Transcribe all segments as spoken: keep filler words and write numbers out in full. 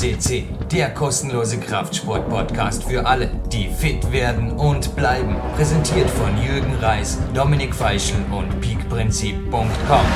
C C, der kostenlose Kraftsport-Podcast für alle, die fit werden und bleiben. Präsentiert von Jürgen Reis, Dominik Feischl und peakprinzip punkt com.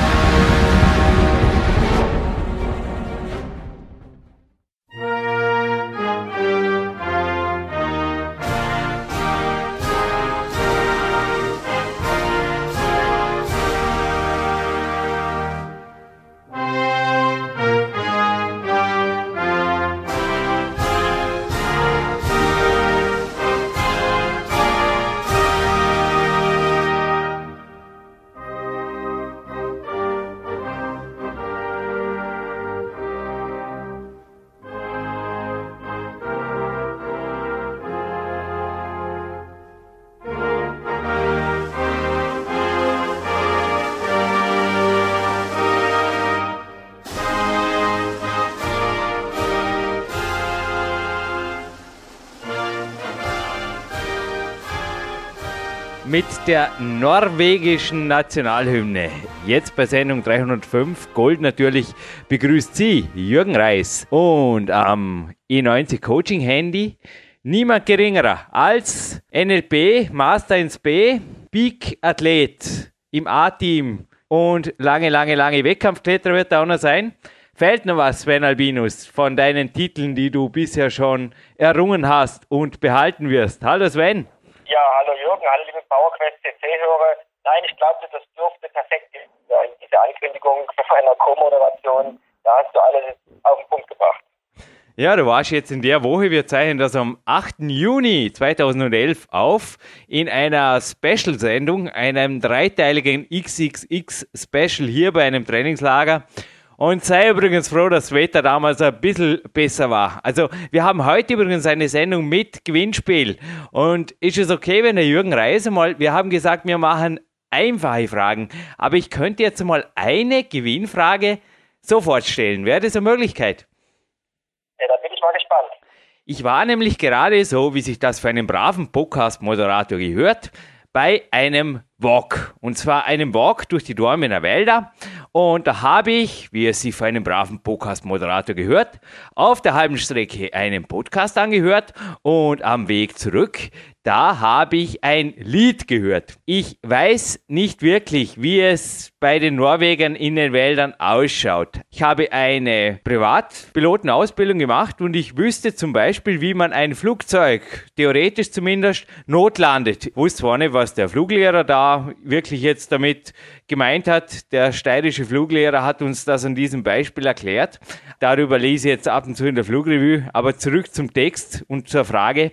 Mit der norwegischen Nationalhymne. Jetzt bei Sendung dreihundertfünf Gold natürlich begrüßt Sie Jürgen Reis und am E neunzig Coaching Handy niemand geringerer als N L P, Master ins B, Peak Athlet im A-Team und lange, lange, lange Wettkampfkletterer wird da auch noch sein. Fällt noch was, Sven Albinus, von deinen Titeln, die du bisher schon errungen hast und behalten wirst? Hallo Sven. Ja, hallo Jürgen, hallo liebe PowerQuest C C-Hörer. Nein, ich glaube, das dürfte perfekt sein, diese Ankündigung für einer Co-Moderation. Da hast du alles auf den Punkt gebracht. Ja, du warst jetzt in der Woche, wir zeichnen das am achten Juni zweitausendelf auf, in einer Special-Sendung, einem dreiteiligen X X X-Special hier bei einem Trainingslager. Und sei übrigens froh, dass das Wetter damals ein bisschen besser war. Also wir haben heute übrigens eine Sendung mit Gewinnspiel. Und ist es okay, wenn der Jürgen Reis mal, wir haben gesagt, wir machen einfache Fragen. Aber ich könnte jetzt mal eine Gewinnfrage sofort stellen. Wäre das eine Möglichkeit? Ja, da bin ich mal gespannt. Ich war nämlich gerade so, wie sich das für einen braven Podcast-Moderator gehört, bei einem Walk. Und zwar einem Walk durch die Dormener Wälder. Und da habe ich, wie es sich für einen braven Podcast-Moderator gehört, auf der halben Strecke einen Podcast angehört und am Weg zurück, da habe ich ein Lied gehört. Ich weiß nicht wirklich, wie es bei den Norwegern in den Wäldern ausschaut. Ich habe eine Privatpilotenausbildung gemacht und ich wüsste zum Beispiel, wie man ein Flugzeug, theoretisch zumindest, notlandet. Ich wusste zwar nicht, was der Fluglehrer da wirklich jetzt damit gemeint hat. Der steirische Fluglehrer hat uns das an diesem Beispiel erklärt. Darüber lese ich jetzt ab und zu in der Flugrevue. Aber zurück zum Text und zur Frage,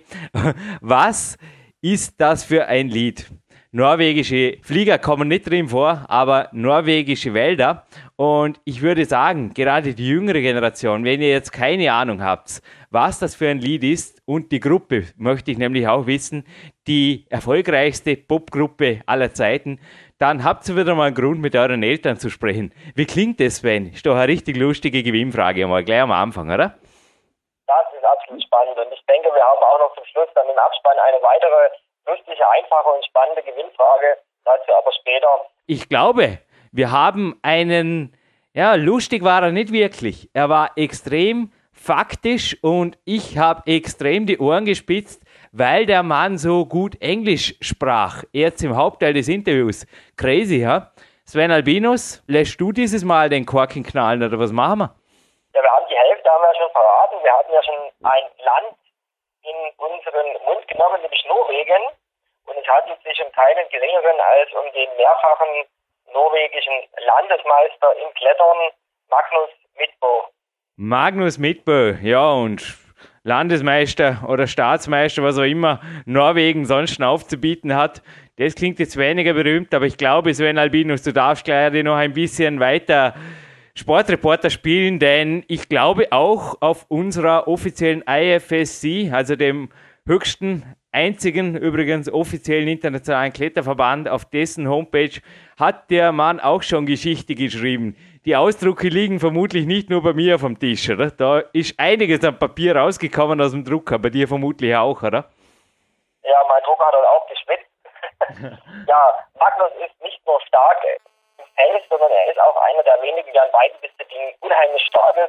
was ist das für ein Lied? Norwegische Flieger kommen nicht drin vor, aber norwegische Wälder. Und ich würde sagen, gerade die jüngere Generation, wenn ihr jetzt keine Ahnung habt, was das für ein Lied ist und die Gruppe, möchte ich nämlich auch wissen, die erfolgreichste Popgruppe aller Zeiten, dann habt ihr wieder mal einen Grund, mit euren Eltern zu sprechen. Wie klingt das, Sven? Ist doch eine richtig lustige Gewinnfrage, mal gleich am Anfang, oder? Das ist absolut spannend und ich denke, wir haben auch noch zum Schluss dann im Abspann eine weitere lustige, einfache und spannende Gewinnfrage, dazu aber später. Ich glaube, wir haben einen, ja, lustig war er nicht wirklich. Er war extrem faktisch und ich habe extrem die Ohren gespitzt, weil der Mann so gut Englisch sprach. Jetzt im Hauptteil des Interviews. Crazy, ja? Sven Albinus, lässt du dieses Mal den Korken knallen oder was machen wir? Ja, wir haben die Hälfte haben wir ja schon verraten. Wir hatten ja schon ein Land in unseren Mund genommen, nämlich Norwegen. Und es handelt sich um keinen geringeren als um den mehrfachen norwegischen Landesmeister im Klettern, Magnus Midtbø. Magnus Midtbø, ja, und Landesmeister oder Staatsmeister, was auch immer Norwegen sonst aufzubieten hat. Das klingt jetzt weniger berühmt, aber ich glaube, Sven Albinus, du darfst gleich noch ein bisschen weiter Sportreporter spielen, denn ich glaube auch auf unserer offiziellen I F S C, also dem höchsten, einzigen übrigens offiziellen internationalen Kletterverband, auf dessen Homepage hat der Mann auch schon Geschichte geschrieben. Die Ausdrucke liegen vermutlich nicht nur bei mir auf dem Tisch, oder? Da ist einiges am Papier rausgekommen aus dem Drucker, bei dir vermutlich auch, oder? Ja, mein Drucker hat auch geschwitzt. Ja, Magnus ist nicht nur stark im Feld, sondern er ist auch einer der wenigen, der in beiden Disziplinen unheimlich stark ist.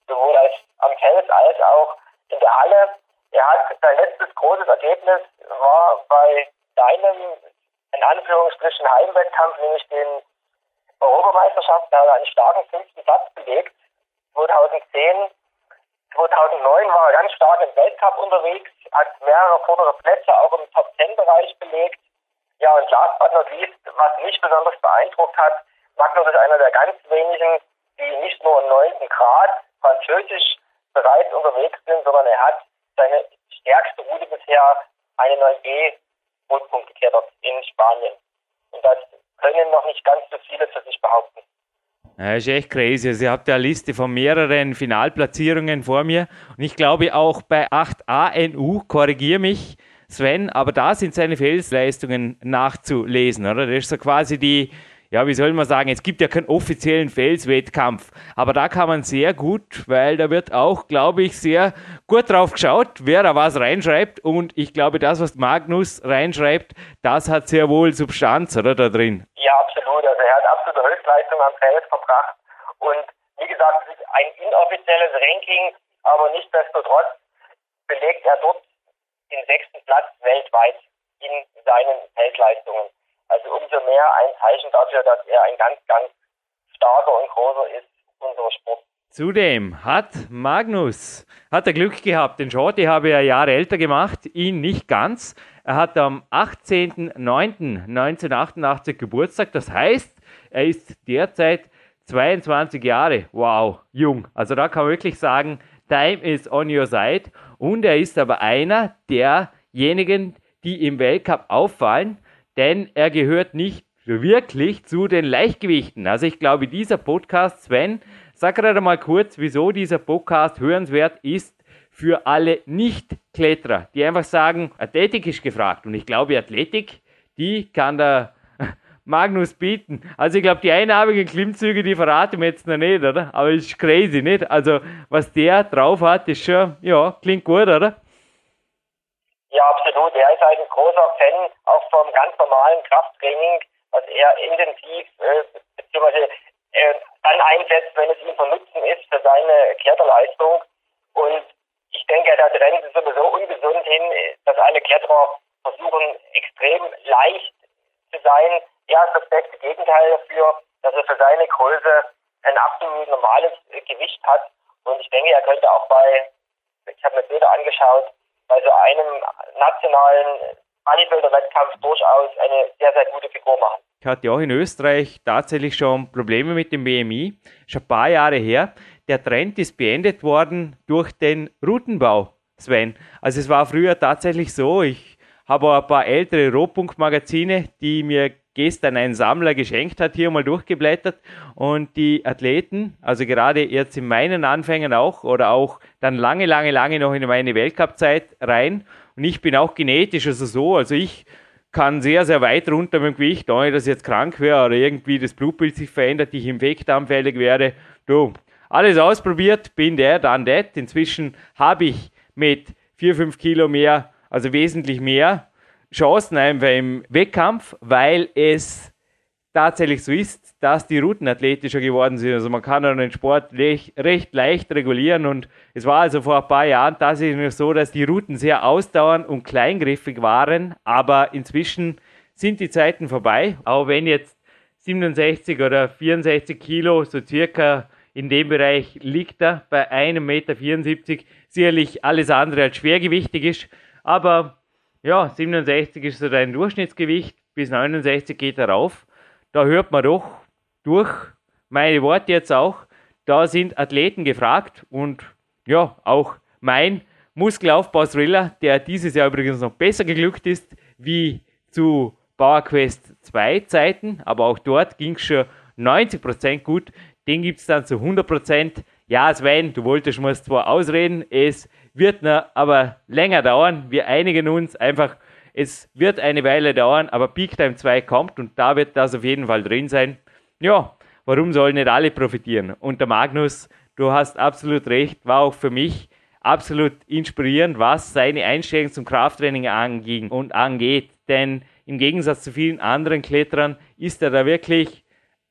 sowohl als am Fels als auch in der Halle. Er hat sein letztes großes Ergebnis war bei seinem, in Anführungsstrichen, Heimwettkampf, nämlich den Europameisterschaften, da hat er einen starken fünften Platz belegt. zweitausendzehn, zweitausendneun war er ganz stark im Weltcup unterwegs, hat mehrere vordere Plätze auch im Top zehn Bereich belegt. Ja, und last but not least, was mich besonders beeindruckt hat, Magnus ist einer der ganz wenigen, die nicht nur im neunten Grad französisch bereits unterwegs sind, sondern er hat seine stärkste Route bisher, eine neun B Rotpunkt geklettert in Spanien. Und das können noch nicht ganz so viele für sich behaupten. Ja, ist echt crazy. Also ihr habt ja eine Liste von mehreren Finalplatzierungen vor mir. Und ich glaube auch bei acht A N U, korrigiere mich, Sven, aber da sind seine Felsleistungen nachzulesen, oder? Das ist so quasi die, ja, wie soll man sagen, es gibt ja keinen offiziellen Felswettkampf, aber da kann man sehr gut, weil da wird auch, glaube ich, sehr gut drauf geschaut, wer da was reinschreibt, und ich glaube, das, was Magnus reinschreibt, das hat sehr wohl Substanz, oder, da drin? Ja, absolut. Also er hat absolute Höchstleistung am Fels verbracht und wie gesagt, es ist ein inoffizielles Ranking, aber nichtsdestotrotz belegt er dort den sechsten Platz weltweit in seinen Feldleistungen. Also umso mehr ein Zeichen dafür, dass er ein ganz, ganz starker und großer ist, unserer Sport. Zudem hat Magnus, hat er Glück gehabt, den Shorty habe er Jahre älter gemacht, ihn nicht ganz. Er hat am achtzehnten neunten neunzehnhundertachtundachtzig Geburtstag, das heißt, er ist derzeit zweiundzwanzig Jahre, wow, jung. Also da kann man wirklich sagen, time is on your side. Und er ist aber einer derjenigen, die im Weltcup auffallen, denn er gehört nicht wirklich zu den Leichtgewichten. Also ich glaube, dieser Podcast, Sven, sag gerade mal kurz, wieso dieser Podcast hörenswert ist für alle Nicht-Kletterer, die einfach sagen, Athletik ist gefragt. Und ich glaube, Athletik, die kann der Magnus bieten. Also ich glaube, die einarmigen Klimmzüge, die verraten wir jetzt noch nicht, oder? Aber ist crazy, nicht? Also was der drauf hat, ist schon, ja, klingt gut, oder? Ja, absolut. Er ist ein großer Fan auch vom ganz normalen Krafttraining, was er intensiv äh, beziehungsweise äh, dann einsetzt, wenn es ihm von Nutzen ist für seine Kletterleistung. Und ich denke, der Trend ist sowieso ungesund hin, dass alle Kletterer versuchen, extrem leicht zu sein. Er ist das beste Gegenteil dafür, dass er für seine Größe ein absolut normales äh, Gewicht hat. Und ich denke, er könnte auch bei, ich habe mir Bilder angeschaut, bei so einem nationalen Bodybuilder-Wettkampf durchaus eine sehr, sehr gute Figur machen. Ich hatte auch in Österreich tatsächlich schon Probleme mit dem B M I, schon ein paar Jahre her. Der Trend ist beendet worden durch den Routenbau, Sven. Also es war früher tatsächlich so, ich habe ein paar ältere Rohpunkt-Magazine, die mir gestern ein Sammler geschenkt hat, hier mal durchgeblättert, und die Athleten, also gerade jetzt in meinen Anfängen auch oder auch dann lange, lange, lange noch in meine Weltcup-Zeit rein, und ich bin auch genetisch also so, also ich kann sehr, sehr weit runter mit dem Gewicht, ohne dass ich jetzt krank wäre oder irgendwie das Blutbild sich verändert, ich infektanfällig wäre. Du, alles ausprobiert, bin der, dann das. Inzwischen habe ich mit vier, fünf Kilo mehr, also wesentlich mehr Chancen einfach im Wettkampf, weil es tatsächlich so ist, dass die Routen athletischer geworden sind. Also man kann den Sport recht, recht leicht regulieren, und es war also vor ein paar Jahren tatsächlich so, dass die Routen sehr ausdauernd und kleingriffig waren, aber inzwischen sind die Zeiten vorbei. Auch wenn jetzt siebenundsechzig oder vierundsechzig Kilo, so circa in dem Bereich liegt er, bei einem Meter vierundsiebzig, sicherlich alles andere als schwergewichtig ist, aber ja, siebenundsechzig ist so dein Durchschnittsgewicht, bis neunundsechzig geht er rauf. Da hört man doch durch meine Worte jetzt auch, da sind Athleten gefragt, und ja, auch mein Muskelaufbau-Thriller, der dieses Jahr übrigens noch besser geglückt ist, wie zu PowerQuest zwei Zeiten, aber auch dort ging es schon neunzig Prozent gut, den gibt es dann zu hundert Prozent. Ja, Sven, du wolltest mir zwar ausreden, es wird noch aber länger dauern. Wir einigen uns einfach, es wird eine Weile dauern, aber Peak Time zwei kommt und da wird das auf jeden Fall drin sein. Ja, warum sollen nicht alle profitieren? Und der Magnus, du hast absolut recht, war auch für mich absolut inspirierend, was seine Einstellung zum Krafttraining anging und angeht. Denn im Gegensatz zu vielen anderen Kletterern ist er da wirklich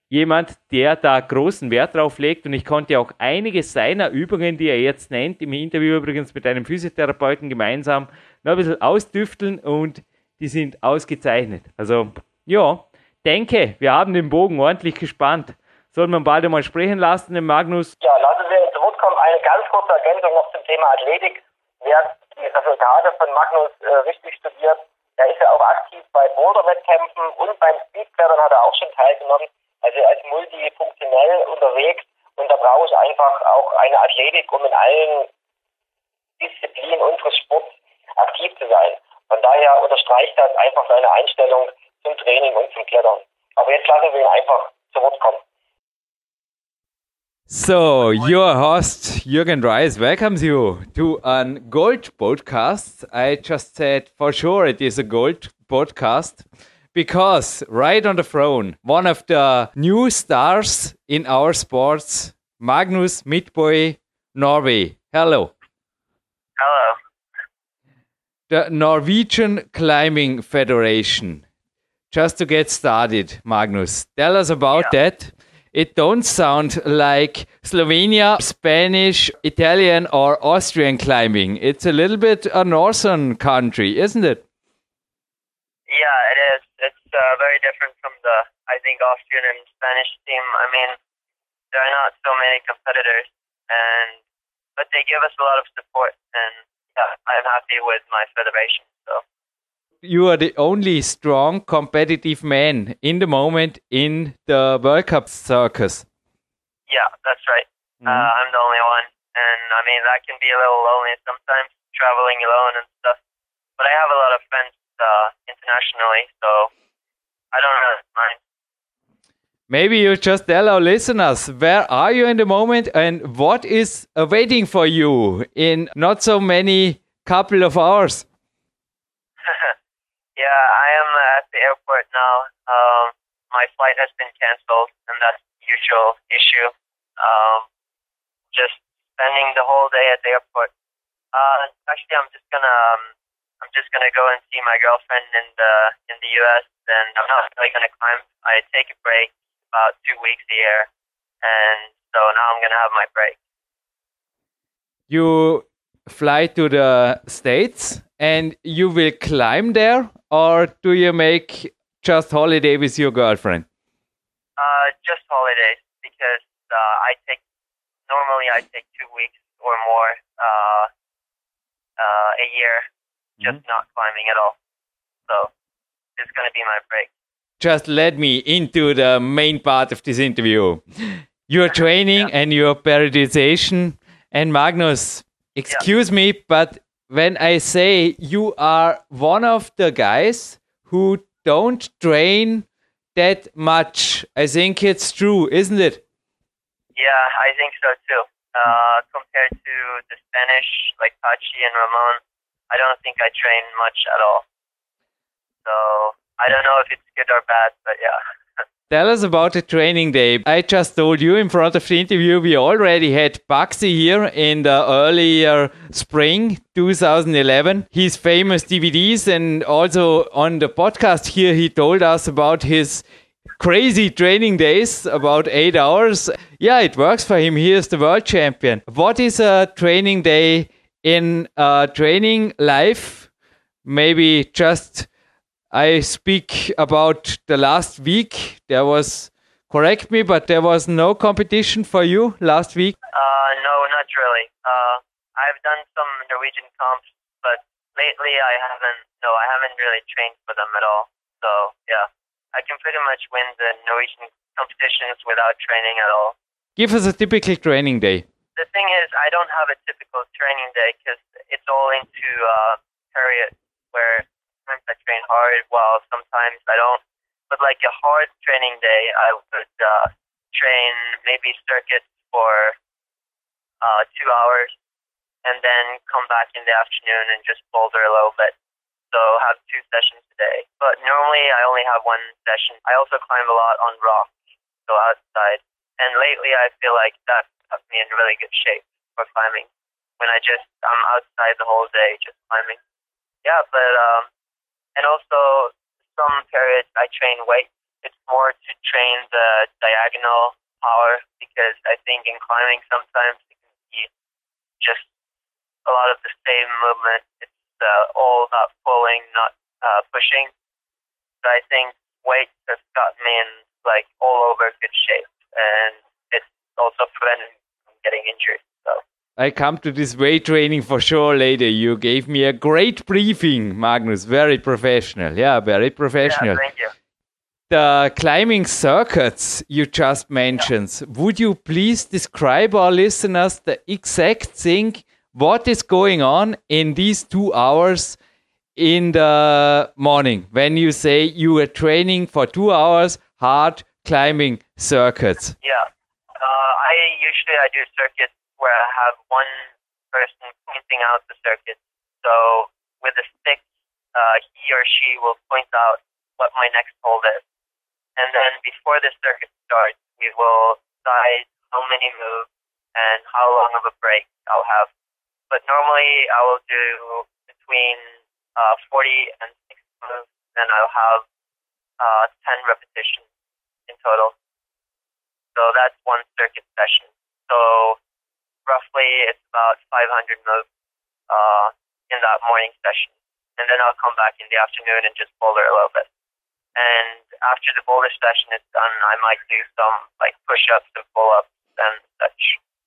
jemand, der da großen Wert drauf legt und ich konnte auch einige seiner Übungen, die er jetzt nennt, im Interview übrigens mit einem Physiotherapeuten gemeinsam, noch ein bisschen ausdüfteln und die sind ausgezeichnet. Also, ja, denke, wir haben den Bogen ordentlich gespannt. Sollen wir bald einmal sprechen lassen, den Magnus? Ja, lassen Sie uns zu Wort kommen. Eine ganz kurze Ergänzung noch zum Thema Athletik. Wer die Resultate von Magnus äh, richtig studiert, der ist ja auch aktiv bei Boulder-Wettkämpfen und beim Speedklettern hat er auch schon teilgenommen. Also er ist multifunktionell unterwegs und da brauche ich einfach auch eine Athletik, um in allen Disziplinen unseres Sports aktiv zu sein. Von daher unterstreicht das einfach seine Einstellung zum Training und zum Klettern. Aber jetzt lassen wir ihn einfach zu Wort kommen. So, your host, Jürgen Reis, welcomes you to a Gold podcast. I just said for sure it is a Gold podcast because right on the throne, one of the new stars in our sports, Magnus Midtbø, Norway. Hello. Hello. The Norwegian Climbing Federation. Just to get started, Magnus, tell us about yeah. that. It don't sound like Slovenia, Spanish, Italian or Austrian climbing. It's a little bit a northern country, isn't it? Yeah, it is. It's uh, very different from the, I think, Austrian and Spanish team. I mean, there are not so many competitors, and but they give us a lot of support, and yeah, I'm happy with my federation. So. You are the only strong competitive man in the moment in the World Cup circus. Yeah, that's right. Mm-hmm. Uh, I'm the only one. And I mean, that can be a little lonely sometimes, traveling alone and stuff. But I have a lot of friends uh, internationally, so I don't really mind. Maybe you just tell our listeners, where are you in the moment and what is awaiting for you in not so many couple of hours? Yeah, I am at the airport now. Um, my flight has been canceled, and that's the usual issue. Um, just spending the whole day at the airport. Uh, actually, I'm just gonna um, I'm just gonna go and see my girlfriend in the in the U S. And I'm not really gonna climb. I take a break about two weeks a year, and so now I'm gonna have my break. You fly to the States and you will climb there, or do you make just holiday with your girlfriend? Uh, just holidays, because uh, I take, normally I take two weeks or more uh, uh, a year, just mm-hmm. not climbing at all. So this is going to be my break. Just let me into the main part of this interview. Your training yeah. and your periodization. And Magnus, excuse yeah. me, but when I say you are one of the guys who don't train that much, I think it's true, isn't it? Yeah, I think so too. Uh, compared to the Spanish, like Pachi and Ramon, I don't think I train much at all. So I don't know if it's good or bad, but yeah. Tell us about the training day. I just told you in front of the interview, we already had Baxi here in the earlier spring two thousand eleven. His famous D V Ds, and also on the podcast here, he told us about his crazy training days, about eight hours. Yeah, it works for him. He is the world champion. What is a training day in a training life? Maybe just... I speak about the last week. There was, correct me, but there was no competition for you last week? Uh, no, not really. Uh, I've done some Norwegian comps, but lately I haven't, no, I haven't really trained for them at all. So, yeah, I can pretty much win the Norwegian competitions without training at all. Give us a typical training day. The thing is, I don't have a typical training day because it's all into uh, periods where sometimes I train hard while sometimes I don't. But like a hard training day, I would uh, train maybe circuits for uh, two hours and then come back in the afternoon and just boulder a little bit. So have two sessions a day. But normally I only have one session. I also climb a lot on rock, so outside. And lately I feel like that puts me in really good shape for climbing. When I just, I'm outside the whole day just climbing. Yeah, but, um, and also some periods I train weights. it's more to train the diagonal power, because I think in climbing sometimes it can be just a lot of the same movement. It's uh, all about pulling, not uh, pushing. So I think weight has got me in like all over good shape, and it's also preventing me from getting injured. So I come to this weight training for sure later. You gave me a great briefing, Magnus. Very professional. Yeah, very professional. yeah, thank you. The climbing circuits you just mentioned, yeah. Would you please describe our listeners the exact thing, what is going on in these two hours in the morning when you say you are training for two hours hard climbing circuits? Yeah, uh, I usually I do circuits where I have one person pointing out the circuit. So with a stick, uh, he or she will point out what my next hold is. And then before the circuit starts, we will decide how many moves and how long of a break I'll have. But normally I will do between uh, forty and sixty moves, and I'll have uh, ten repetitions in total. So that's one circuit session. So roughly it's about five hundred moves uh, in that morning session. And then I'll come back in the afternoon and just boulder a little bit. And after the boulder session is done, I might do some like push-ups and pull-ups and such.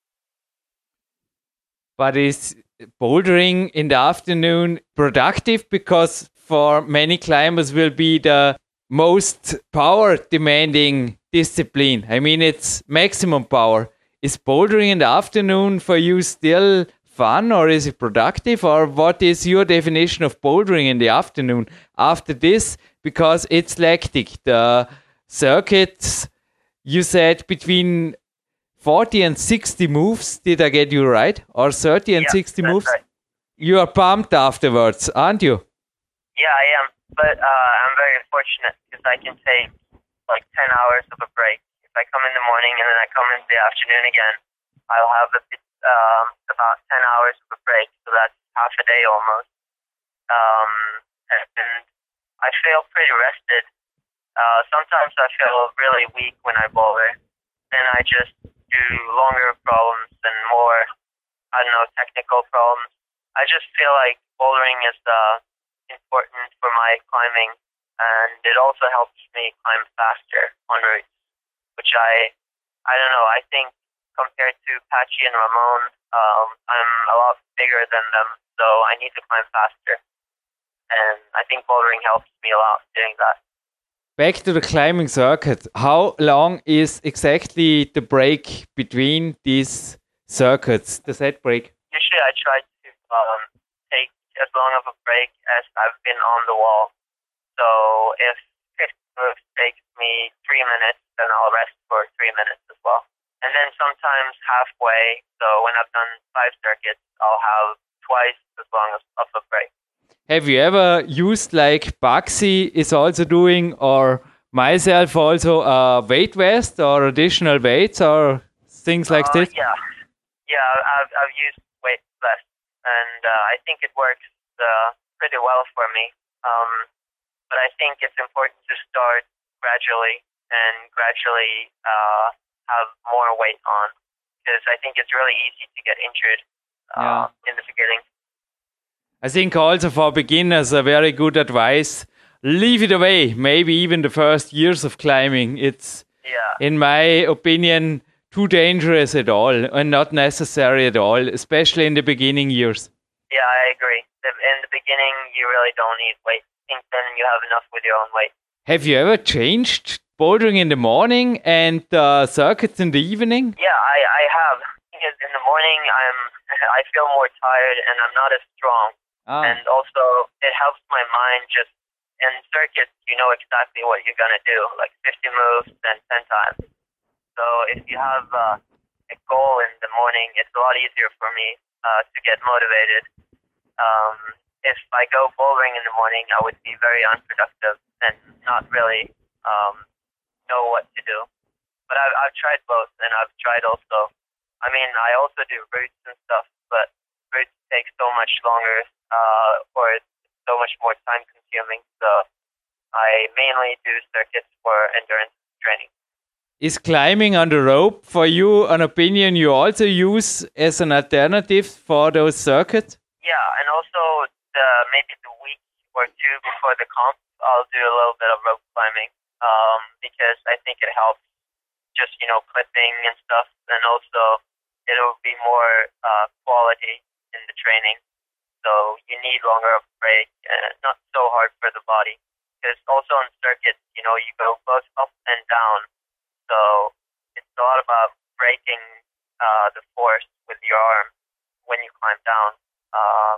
But is bouldering in the afternoon productive? Because for many climbers will be the most power-demanding discipline. I mean, it's maximum power. Is bouldering in the afternoon for you still fun, or is it productive? Or what is your definition of bouldering in the afternoon after this? Because it's lactic. The circuits, you said between forty and sixty moves. Did I get you right? Or thirty and yeah, sixty moves? Right. You are pumped afterwards, aren't you? Yeah, I am. But uh, I'm very fortunate because I can take like ten hours of a break. If I come in the morning and then I come in the afternoon again, I'll have a bit, um, about ten hours of a break. So that's half a day almost. Um, and I feel pretty rested. Uh, sometimes I feel really weak when I boulder. Then I just do longer problems and more, I don't know, technical problems. I just feel like bouldering is uh, important for my climbing, and it also helps me climb faster on routes, which I, I don't know, I think compared to Patchy and Ramon, um, I'm a lot bigger than them, so I need to climb faster. And I think bouldering helps me a lot doing that. Back to the climbing circuit. How long is exactly the break between these circuits, the set break? Usually I try to um, take as long of a break as I've been on the wall. So if fifty moves takes me three minutes, then I'll rest for three minutes as well. And then sometimes halfway, so when I've done five circuits, I'll have twice as long as of a break. Have you ever used, like Baxi is also doing, or myself also, a weight vest or additional weights or things like uh, this? Yeah, yeah, I've I've used weight vest, and uh, I think it works uh, pretty well for me. Um, but I think it's important to start gradually and gradually uh, have more weight on, because I think it's really easy to get injured uh, yeah. in the beginning. I think also for beginners, a very good advice, leave it away, maybe even the first years of climbing. It's, yeah. in my opinion, too dangerous at all and not necessary at all, especially in the beginning years. Yeah, I agree. In the beginning, you really don't need weight. I think then you have enough with your own weight. Have you ever changed bouldering in the morning and uh, circuits in the evening? Yeah, I, I have. Because in the morning, I'm I feel more tired and I'm not as strong. Ah. And also, it helps my mind just, in circuits, you know exactly what you're going to do, like fifty moves and ten times. So if you have uh, a goal in the morning, it's a lot easier for me uh, to get motivated. Um, if I go bouldering in the morning, I would be very unproductive and not really um, know what to do. But I've, I've tried both, and I've tried also, I mean, I also do routes and stuff, but routes take so much longer, uh, or it's so much more time consuming. So I mainly do circuits for endurance training. Is climbing on the rope for you an opinion you also use as an alternative for those circuits? Yeah, and also the, maybe the week or two before the comp, I'll do a little bit of rope climbing um, because I think it helps just, you know, clipping and stuff, and also it'll be more uh, quality in the training. So you need longer of a break and not so hard for the body. Because also on circuits, you know, you go both up and down. So it's a lot about breaking uh, the force with your arm when you climb down. Uh,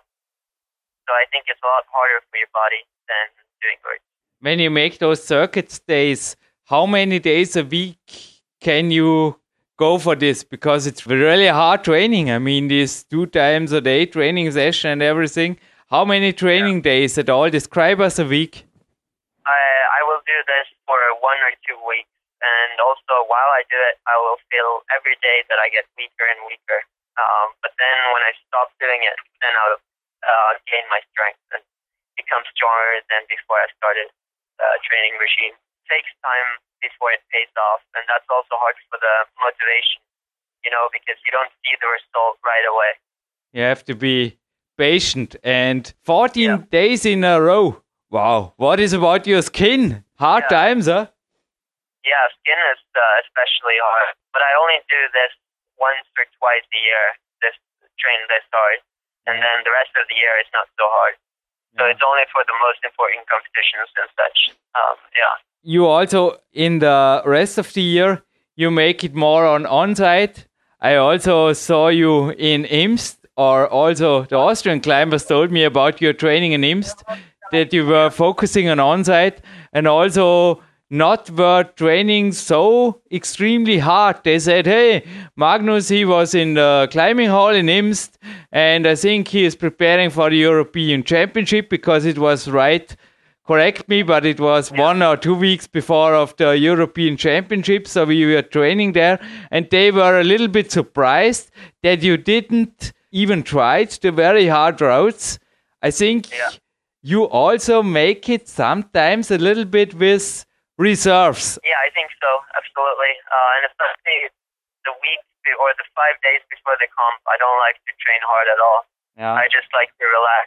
so I think it's a lot harder for your body than doing weights. When you make those circuit days, how many days a week can you go for this? Because it's really hard training. I mean, these two times a day training session and everything. How many training yeah. days at all? Describe us a week. I, I will do this for one or two weeks. And also, while I do it, I will feel every day that I get weaker and weaker. Um, but then when I stop doing it, then I'll uh, gain my strength and become stronger than before I started the uh, training regime. It takes time before it pays off, and that's also hard for the motivation, you know, because you don't see the result right away. You have to be patient. And fourteen yeah. days in a row. Wow. What is about your skin? Hard yeah. times, huh? Yeah, skin is uh, especially hard. But I only do this once or twice a year, this train this hard. And then the rest of the year is not so hard. So yeah. it's only for the most important competitions and such. Um, yeah. You also, in the rest of the year, you make it more on on-site. I also saw you in Imst, or also the Austrian climbers told me about your training in Imst, that you were focusing on on-site and also not were training so extremely hard. They said, hey, Magnus, he was in the climbing hall in Imst, and I think he is preparing for the European Championship because it was right, correct me, but it was yeah. one or two weeks before of the European Championship, so we were training there, and they were a little bit surprised that you didn't even try the very hard routes. I think yeah. you also make it sometimes a little bit with reserves. Yeah, I think so, absolutely. Uh, and especially the week or the five days before the comp, I don't like to train hard at all. Yeah. I just like to relax.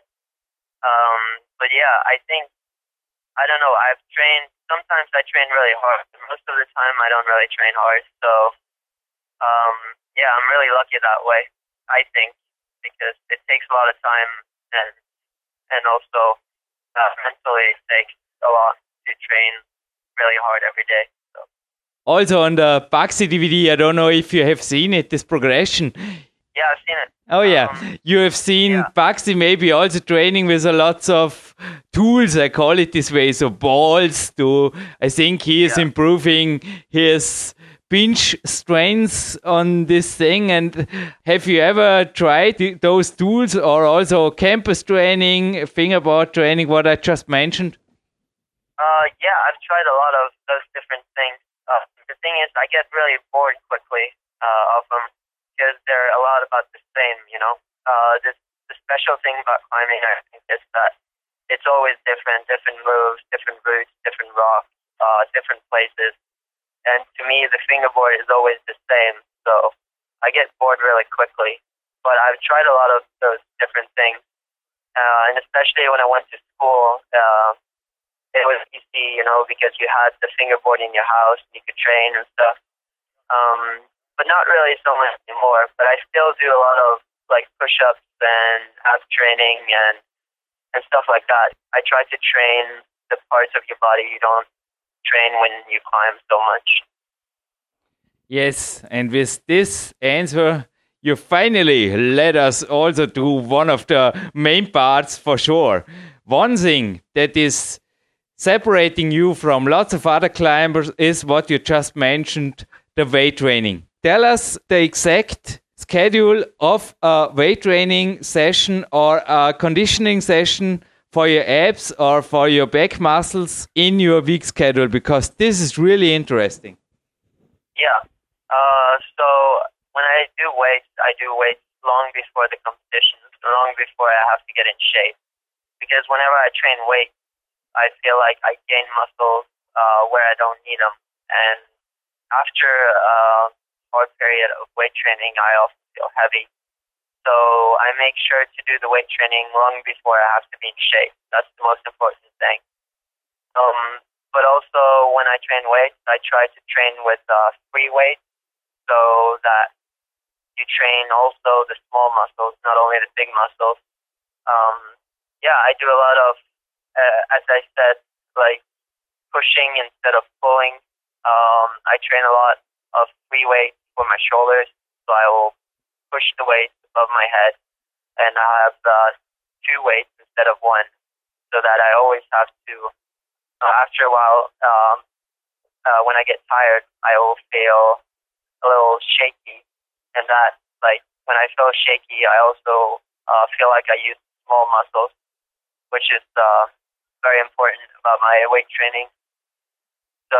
Um, but yeah, I think, I don't know, I've trained, sometimes I train really hard. Most of the time I don't really train hard. So, um, yeah, I'm really lucky that way, I think, because it takes a lot of time and, and also uh, mentally it takes a lot to train really hard every day. So. Also on the Baxi D V D, I don't know if you have seen it, this progression. Yeah, I've seen it. Oh yeah, um, you have seen yeah. Baxi maybe also training with a lots of tools, I call it this way, so balls to, I think he is yeah. improving his pinch strengths on this thing. And have you ever tried those tools, or also campus training, fingerboard training, what I just mentioned? Uh, yeah, I've tried a lot of those different things. Uh, the thing is, I get really bored quickly uh, of them because they're a lot about the same, you know. Uh, this, the special thing about climbing, I think, is that it's always different, different moves, different routes, different rocks, uh, different places. And to me, the fingerboard is always the same, so I get bored really quickly. But I've tried a lot of those different things, uh, and especially when I went to school, uh, it was easy, you know, because you had the fingerboard in your house, you could train and stuff. Um, but not really so much anymore. But I still do a lot of like push-ups and ab training and and stuff like that. I try to train the parts of your body you don't train when you climb so much. Yes, and with this answer, you finally led us also to one of the main parts for sure. One thing that is separating you from lots of other climbers is what you just mentioned, the weight training. Tell us the exact schedule of a weight training session or a conditioning session for your abs or for your back muscles in your week schedule, because this is really interesting. Yeah. Uh, so when I do weights, I do weights long before the competitions, long before I have to get in shape. Because whenever I train weights, I feel like I gain muscles uh, where I don't need them. And after a hard period of weight training, I also feel heavy. So I make sure to do the weight training long before I have to be in shape. That's the most important thing. Um, but also when I train weights, I try to train with uh, free weights so that you train also the small muscles, not only the big muscles. Um, yeah, I do a lot of, uh, as I said, like pushing instead of pulling. Um, I train a lot of free weights for my shoulders, so I will push the weights above my head, and I have uh, two weights instead of one, so that I always have to, uh, after a while, um, uh, when I get tired, I will feel a little shaky, and that, like, when I feel shaky, I also uh, feel like I use small muscles, which is uh, very important about my weight training. So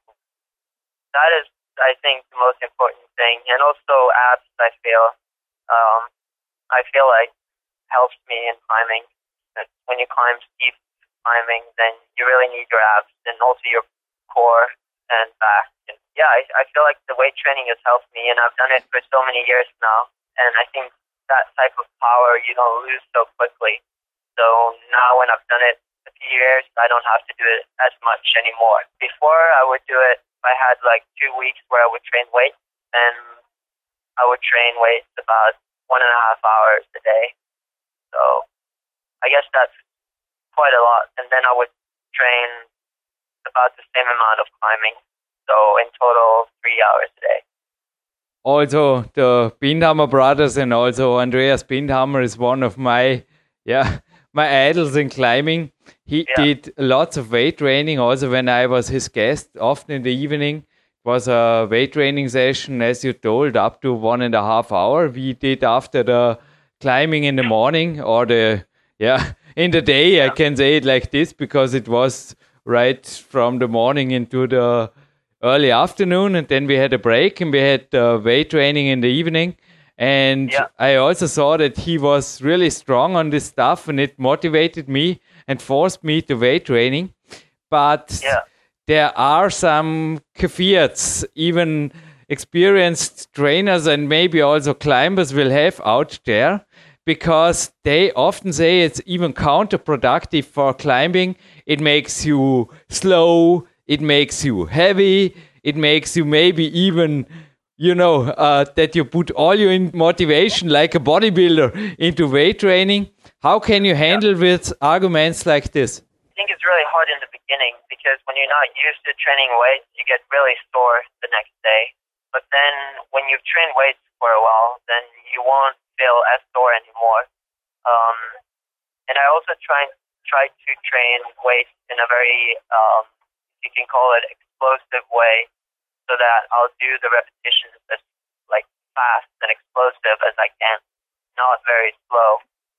that is, I think, the most important thing. And also abs, I feel, um, I feel like helps me in climbing. When you climb steep climbing, then you really need your abs and also your core and back. And yeah, I, I feel like the weight training has helped me, and I've done it for so many years now. And I think that type of power you don't lose so quickly. So now when I've done it a few years, I don't have to do it as much anymore. Before, I would do it, I had like two weeks where I would train weights, and I would train weights about one and a half hours a day. So I guess that's quite a lot. And then I would train about the same amount of climbing. So in total, three hours a day. Also, the Bindhammer brothers, and also Andreas Bindhammer is one of my, yeah, my idols in climbing. He yeah. did lots of weight training also when I was his guest, often in the evening. It was a weight training session, as you told, up to one and a half hour. We did after the climbing in the morning, or the, yeah, in the day, yeah. I can say it like this, because it was right from the morning into the early afternoon, and then we had a break, and we had uh, weight training in the evening. And yeah. I also saw that he was really strong on this stuff, and it motivated me and forced me to weight training. But yeah. there are some caveats, even experienced trainers and maybe also climbers will have out there, because they often say it's even counterproductive for climbing. It makes you slow, it makes you heavy, it makes you maybe even, you know, uh, that you put all your motivation like a bodybuilder into weight training. How can you handle yeah. with arguments like this? I think it's really hard in the beginning, because when you're not used to training weights, you get really sore the next day. But then when you've trained weights for a while, then you won't feel as sore anymore. Um, and I also try, try to train weights in a very, um, you can call it explosive way, so that I'll do the repetitions as like fast and explosive as I can, not very slow.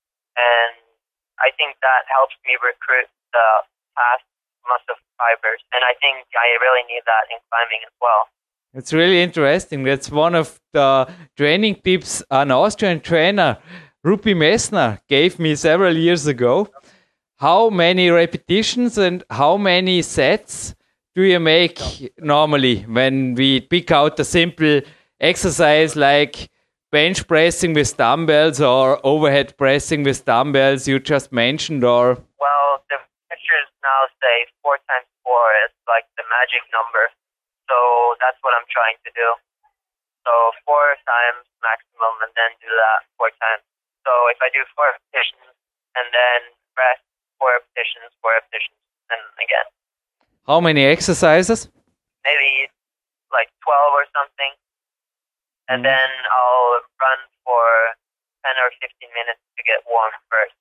And I think that helps me recruit the fast muscle fibers. And I think I really need that in climbing as well. It's really interesting. That's one of the training tips an Austrian trainer, Rupi Messner, gave me several years ago. How many repetitions and how many sets do you make normally when we pick out a simple exercise like bench pressing with dumbbells or overhead pressing with dumbbells you just mentioned? Or well, the pictures now say four times four is like the magic number. So that's what I'm trying to do. So four times maximum, and then do that four times. So if I do four repetitions and then rest, four repetitions, four repetitions, and again. How many exercises? Maybe like twelve or something. And mm. then I'll run for ten or fifteen minutes to get warm first.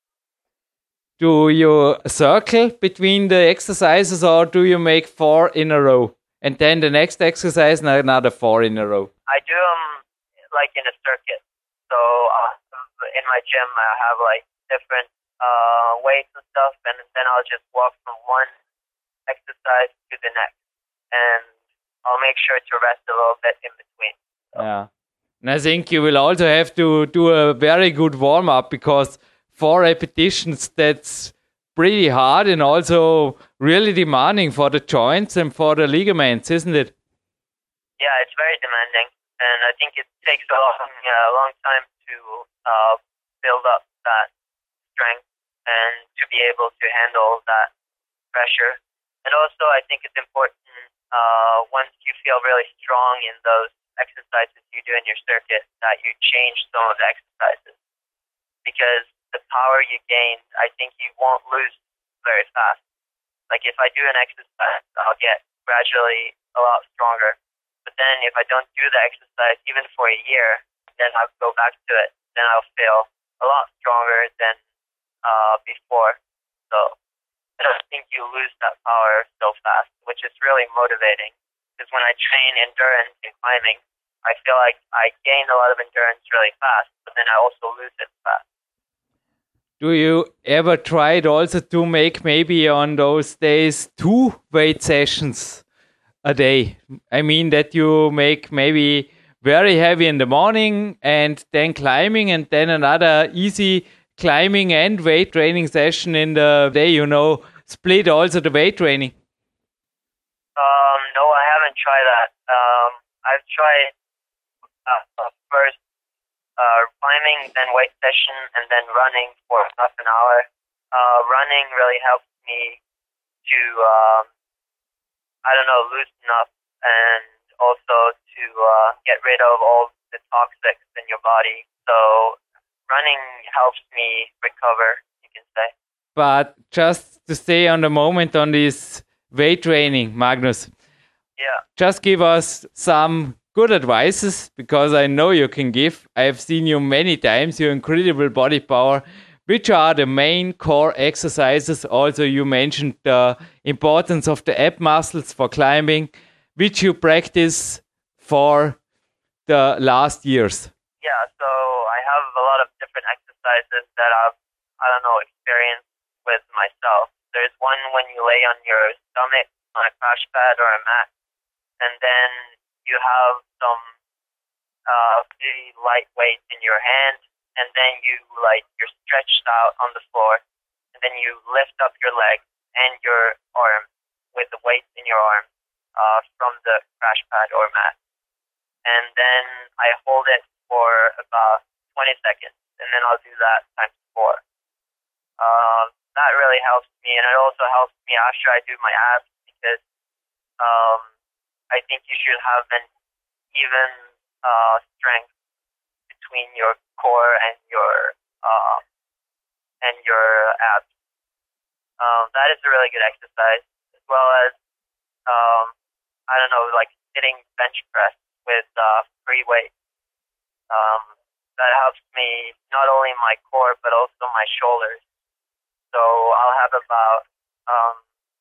Do you circle between the exercises, or do you make four in a row? And then the next exercise, another four in a row? I do them like in a circuit. So uh, in my gym, I have like different uh, weights and stuff, and then I'll just walk from one exercise to the next, and I'll make sure to rest a little bit in between. So. Yeah, and I think you will also have to do a very good warm up, because four repetitions, that's pretty hard and also really demanding for the joints and for the ligaments, isn't it? Yeah, it's very demanding, and I think it takes a long, uh, long time to uh, build up that strength and to be able to handle that pressure. And also, I think it's important uh, once you feel really strong in those exercises you do in your circuit that you change some of the exercises, because the power you gain, I think you won't lose very fast. Like if I do an exercise, I'll get gradually a lot stronger. But then if I don't do the exercise even for a year, then I'll go back to it. Then I'll feel a lot stronger than uh, before. So I don't think you lose that power so fast, which is really motivating. Because when I train endurance in climbing, I feel like I gain a lot of endurance really fast, but then I also lose it fast. Do you ever try it also to make maybe on those days two weight sessions a day? I mean that you make maybe very heavy in the morning and then climbing and then another easy climbing and weight training session in the day, you know, split also the weight training. Um, no, I haven't tried that. Um, I've tried uh, first uh, climbing, then weight session, and then running for half an hour. Uh, running really helps me to um, I don't know, loosen up and also to uh, get rid of all the toxics in your body. So running helps me recover, you can say. But just to stay on the moment on this weight training, Magnus. Yeah. Just give us some good advices, because I know you can give. I have seen you many times, your incredible body power. Which are the main core exercises? Also, you mentioned the importance of the ab muscles for climbing, which you practice for the last years. Yeah, so I have a lot of different exercises that I've, I don't know, experienced with myself. There's one when you lay on your stomach on a crash pad or a mat, and then you have some uh, pretty light weights in your hand. And then you like you're stretched out on the floor, and then you lift up your leg and your arm with the weight in your arm uh, from the crash pad or mat. And then I hold it for about twenty seconds, and then I'll do that times four. Uh, that really helps me, and it also helps me after I do my abs, because um, I think you should have an even uh, strength between your core and your uh, and your abs. Um, that is a really good exercise, as well as um, I don't know, like sitting bench press with uh, free weight. Um, that helps me not only my core but also my shoulders. So I'll have about um,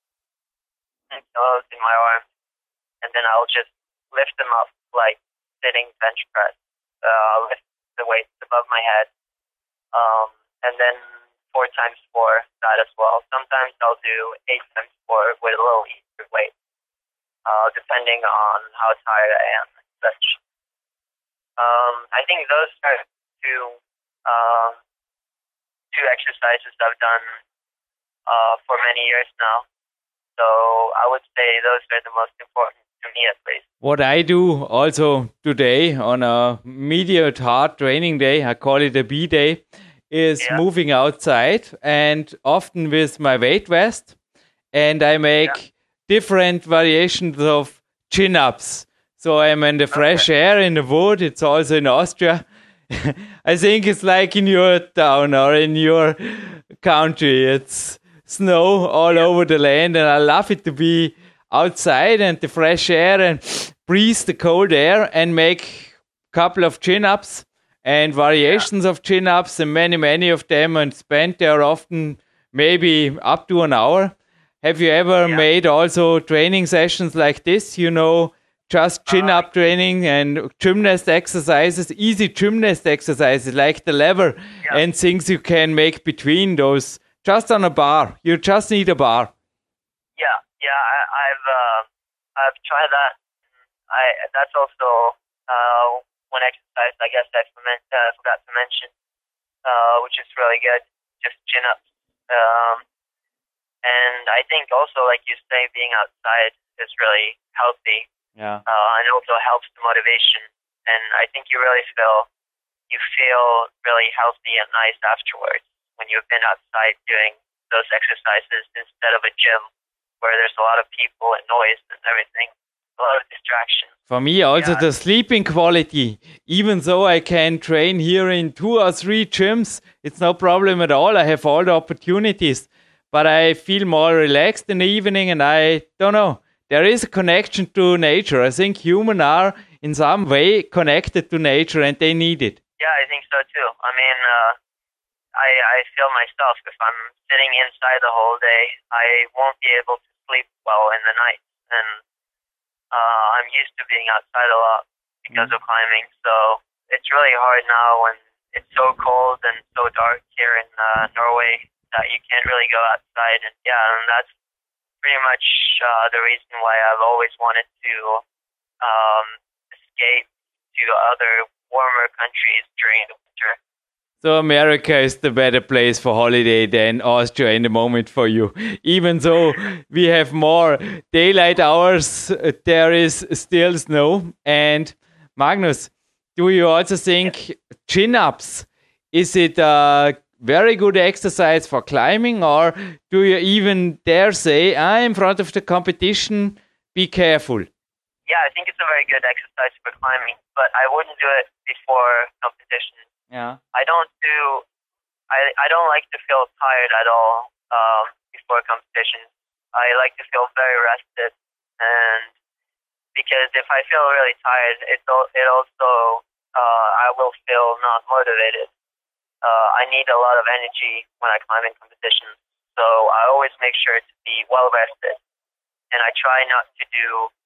ten kilos in my arms, and then I'll just lift them up like sitting bench press. Uh, lift the weights above my head, um, and then four times four that as well. Sometimes I'll do eight times four with a little easier weight, uh, depending on how tired I am and such. Um, I think those are two um, two exercises I've done uh, for many years now. So I would say those are the most important to me, at least. What I do also today on a medium hard training day, I call it a B day, is yeah. moving outside, and often with my weight vest, and I make yeah. different variations of chin-ups. So I'm in the fresh okay. air in the wood. It's also in Austria. I think it's like in your town or in your country. It's snow all yeah. over the land, and I love it to be outside and the fresh air and breathe the cold air and make a couple of chin-ups and variations yeah. of chin-ups, and many, many of them, and spend there often maybe up to an hour. Have you ever yeah. made also training sessions like this, you know, just chin-up uh, training and gymnast exercises, easy gymnast exercises like the lever yeah. and things you can make between those, just on a bar? You just need a bar. Yeah. Yeah, I, I've uh, I've tried that. I that's also uh, one exercise I guess I uh, forgot to mention, uh, which is really good. Just chin ups. Um, And I think also, like you say, being outside is really healthy. Yeah. Uh, and also helps the motivation. And I think you really feel, you feel really healthy and nice afterwards when you've been outside doing those exercises instead of a gym where there's a lot of people and noise and everything, a lot of distraction. For me, also Yeah. the sleeping quality. Even though I can train here in two or three gyms, it's no problem at all. I have all the opportunities, but I feel more relaxed in the evening, and I don't know. There is a connection to nature. I think humans are in some way connected to nature, and they need it. Yeah, I think so too. I mean, uh, I, I feel myself, if I'm sitting inside the whole day, I won't be able to sleep well in the night. And uh, I'm used to being outside a lot because of climbing. So it's really hard now when it's so cold and so dark here in uh, Norway that you can't really go outside. And yeah, and that's pretty much uh, the reason why I've always wanted to um, escape to other warmer countries during the winter. So America is the better place for holiday than Austria in the moment for you. Even though we have more daylight hours, uh, there is still snow. And Magnus, do you also think chin-ups, is it a very good exercise for climbing, or do you even dare say, ah, in front of the competition, be careful? Yeah, I think it's a very good exercise for climbing, but I wouldn't do it before competition. Yeah. I don't do, I, I don't like to feel tired at all um, before competition. I like to feel very rested, and because if I feel really tired, it, it also, uh, I will feel not motivated. Uh, I need a lot of energy when I climb in competitions, so I always make sure to be well rested, and I try not to do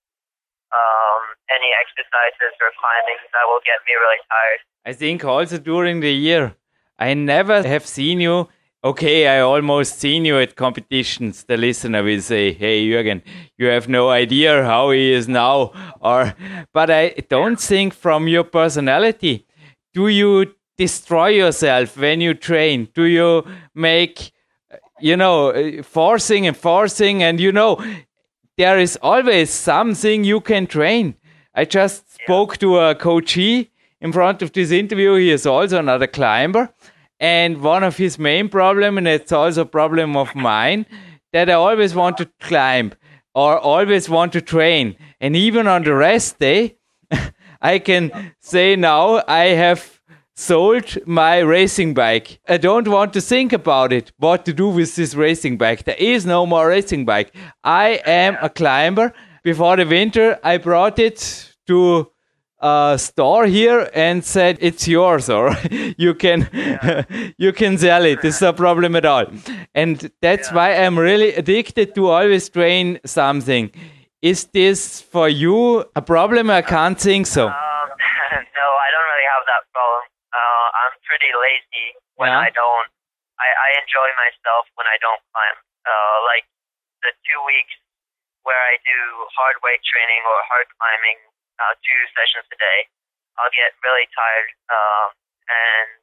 um, any exercises or climbing that will get me really tired. I think also during the year, I never have seen you. Okay, I almost seen you at competitions. The listener will say, hey, Jürgen, you have no idea how he is now. Or, but I don't think from your personality, do you destroy yourself when you train? Do you make, you know, forcing and forcing, and you know, there is always something you can train. I just spoke to a coachee in front of this interview. He is also another climber. And one of his main problems, and it's also a problem of mine, that I always want to climb or always want to train. And even on the rest day, I can say now I have sold my racing bike. I don't want to think about it, what to do with this racing bike. There is no more racing bike. I am a climber. Before the winter, I brought it to a store here and said, it's yours, or you can yeah. you can sell it. It's no problem at all. And that's yeah. why I'm really addicted to always train something. Is this for you a problem? I can't think so. Um, no, I don't really have that problem. Uh, I'm pretty lazy when yeah. I don't. I, I enjoy myself when I don't climb. Uh, like the two weeks where I do hard weight training or hard climbing, uh, two sessions a day, I'll get really tired, um, and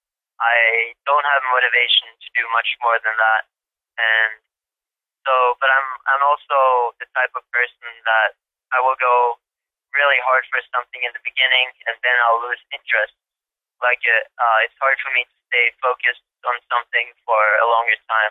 I don't have motivation to do much more than that. And so, but I'm I'm also the type of person that I will go really hard for something in the beginning, and then I'll lose interest. Like it, uh, it's hard for me to stay focused on something for a longer time.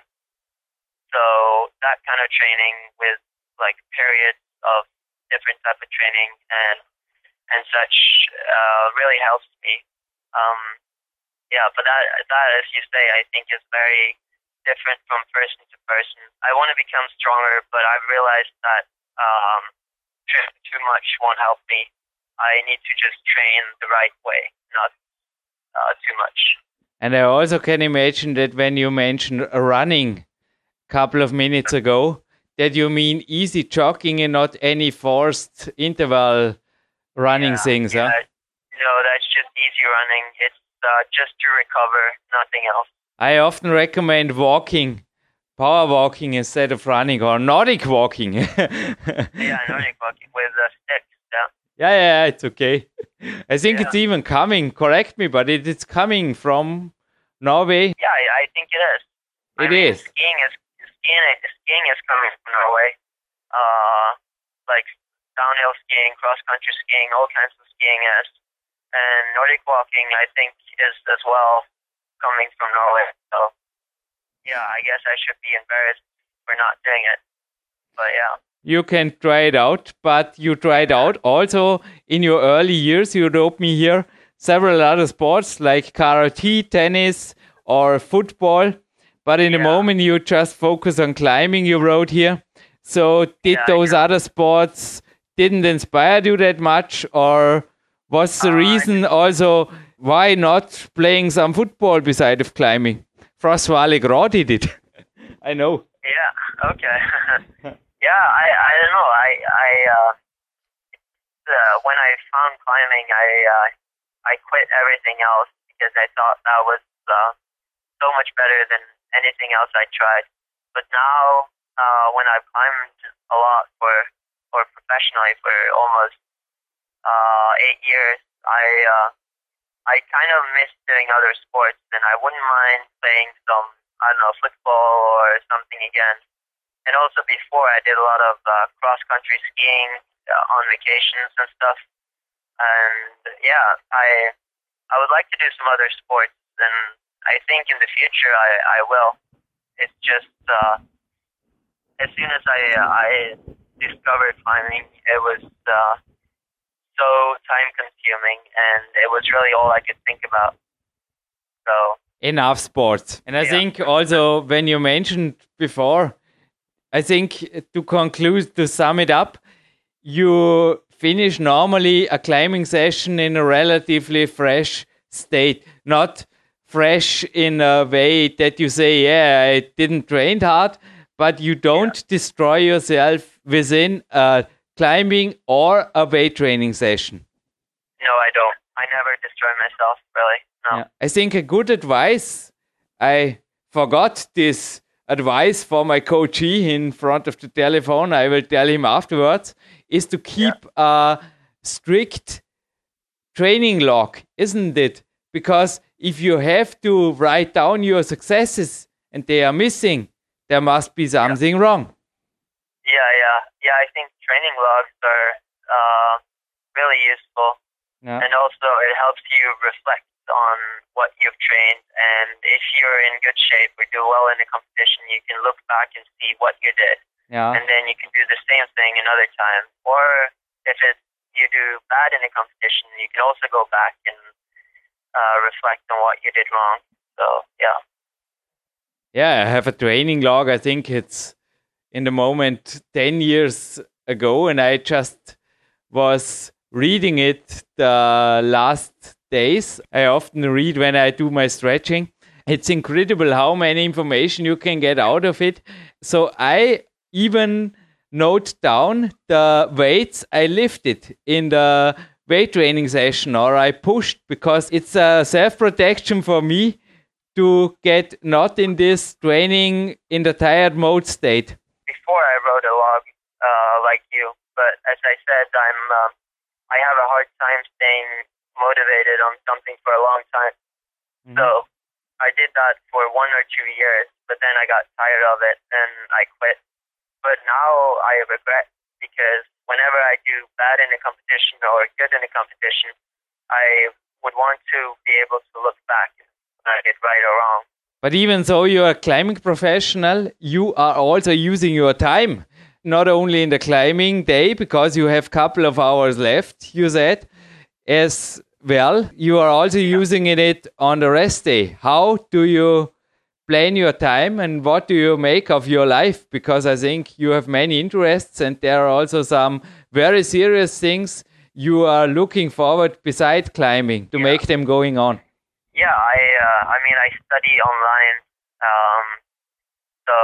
So that kind of training with like periods of different type of training and and such uh, really helps me. Um, yeah, but that that as you say, I think is very different from person to person. I want to become stronger, but I've realized that um, too much won't help me. I need to just train the right way, not uh, too much. And I also can imagine that when you mentioned running a couple of minutes ago, that you mean easy jogging and not any forced interval running yeah, things, yeah. huh? No, that's just easy running. It's uh, just to recover, nothing else. I often recommend walking, power walking instead of running, or Nordic walking. yeah, Nordic walking with uh, sticks, yeah. Yeah, yeah, it's okay. I think yeah. it's even coming, correct me, but it, it's coming from Norway. Yeah, I, I think it is. It I mean, is. Skiing is skiing, skiing is coming from Norway. Uh, like downhill skiing, cross-country skiing, all kinds of skiing is. And Nordic walking, I think, is as well coming from Norway. So, yeah, I guess I should be embarrassed for not doing it. But, yeah. You can try it out, but you tried out also in your early years. You wrote me here several other sports like karate, tennis, or football. But in yeah. the moment, you just focus on climbing, you wrote here. So did yeah, those other sports didn't inspire you that much, or was the uh, reason also why not playing some football beside of climbing? François Legros did it. I know. Yeah, okay. yeah, I, I don't know. I, I uh, uh, when I found climbing, I uh, I quit everything else because I thought that was uh, so much better than anything else I tried. But now, uh, when I've climbed a lot for, or professionally for almost uh, eight years, I uh, I kind of miss doing other sports, and I wouldn't mind playing some, I don't know, football or something again. And also before, I did a lot of uh, cross-country skiing uh, on vacations and stuff. And yeah, I I would like to do some other sports, and I think in the future I, I will. It's just uh, as soon as I I discovered climbing, it was uh, so time-consuming, and it was really all I could think about. So enough sports, and I yeah. think also when you mentioned before, I think to conclude, to sum it up, you finish normally a climbing session in a relatively fresh state, not fresh in a way that you say, yeah, I didn't train hard, but you don't yeah. destroy yourself within a climbing or a weight training session. No, I don't. I never destroy myself, really. No. Yeah. I think a good advice, I forgot this advice for my coachee in front of the telephone, I will tell him afterwards, is to keep yeah. a strict training log, isn't it? Because if you have to write down your successes and they are missing, there must be something yeah. wrong. Yeah, yeah. Yeah, I think training logs are uh, really useful. Yeah. And also it helps you reflect on what you've trained. And if you're in good shape or do well in a competition, you can look back and see what you did. Yeah. And then you can do the same thing another time. Or if it, you do bad in a competition, you can also go back and uh, reflect on what you did wrong. So, yeah. Yeah, I have a training log. I think it's in the moment ten years ago, and I just was reading it the last days. I often read when I do my stretching. It's incredible how many information you can get out of it. So I even note down the weights I lifted in the weight training session or I pushed, because it's a self-protection for me to get not in this training in the tired mode state. Before I wrote a log uh, like you, but as I said, I'm uh, I have a hard time staying motivated on something for a long time. Mm-hmm. So I did that for one or two years, but then I got tired of it and I quit. But now I regret, because whenever I do bad in a competition or good in a competition, I would want to be able to look back and I did right or wrong. But even though you're a climbing professional, you are also using your time, not only in the climbing day, because you have a couple of hours left, you said, as well, you are also yeah. using it on the rest day. How do you plan your time and what do you make of your life? Because I think you have many interests and there are also some very serious things you are looking forward beside climbing to yeah. make them going on. Yeah, I uh, I mean, I study online. Um, so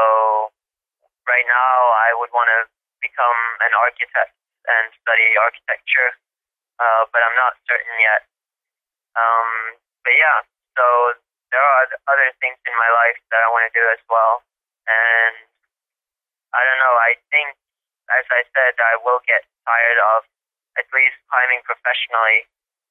right now I would want to become an architect and study architecture, uh, but I'm not certain yet. Um, but yeah, so there are other things in my life that I want to do as well. And I don't know, I think, as I said, I will get tired of at least climbing professionally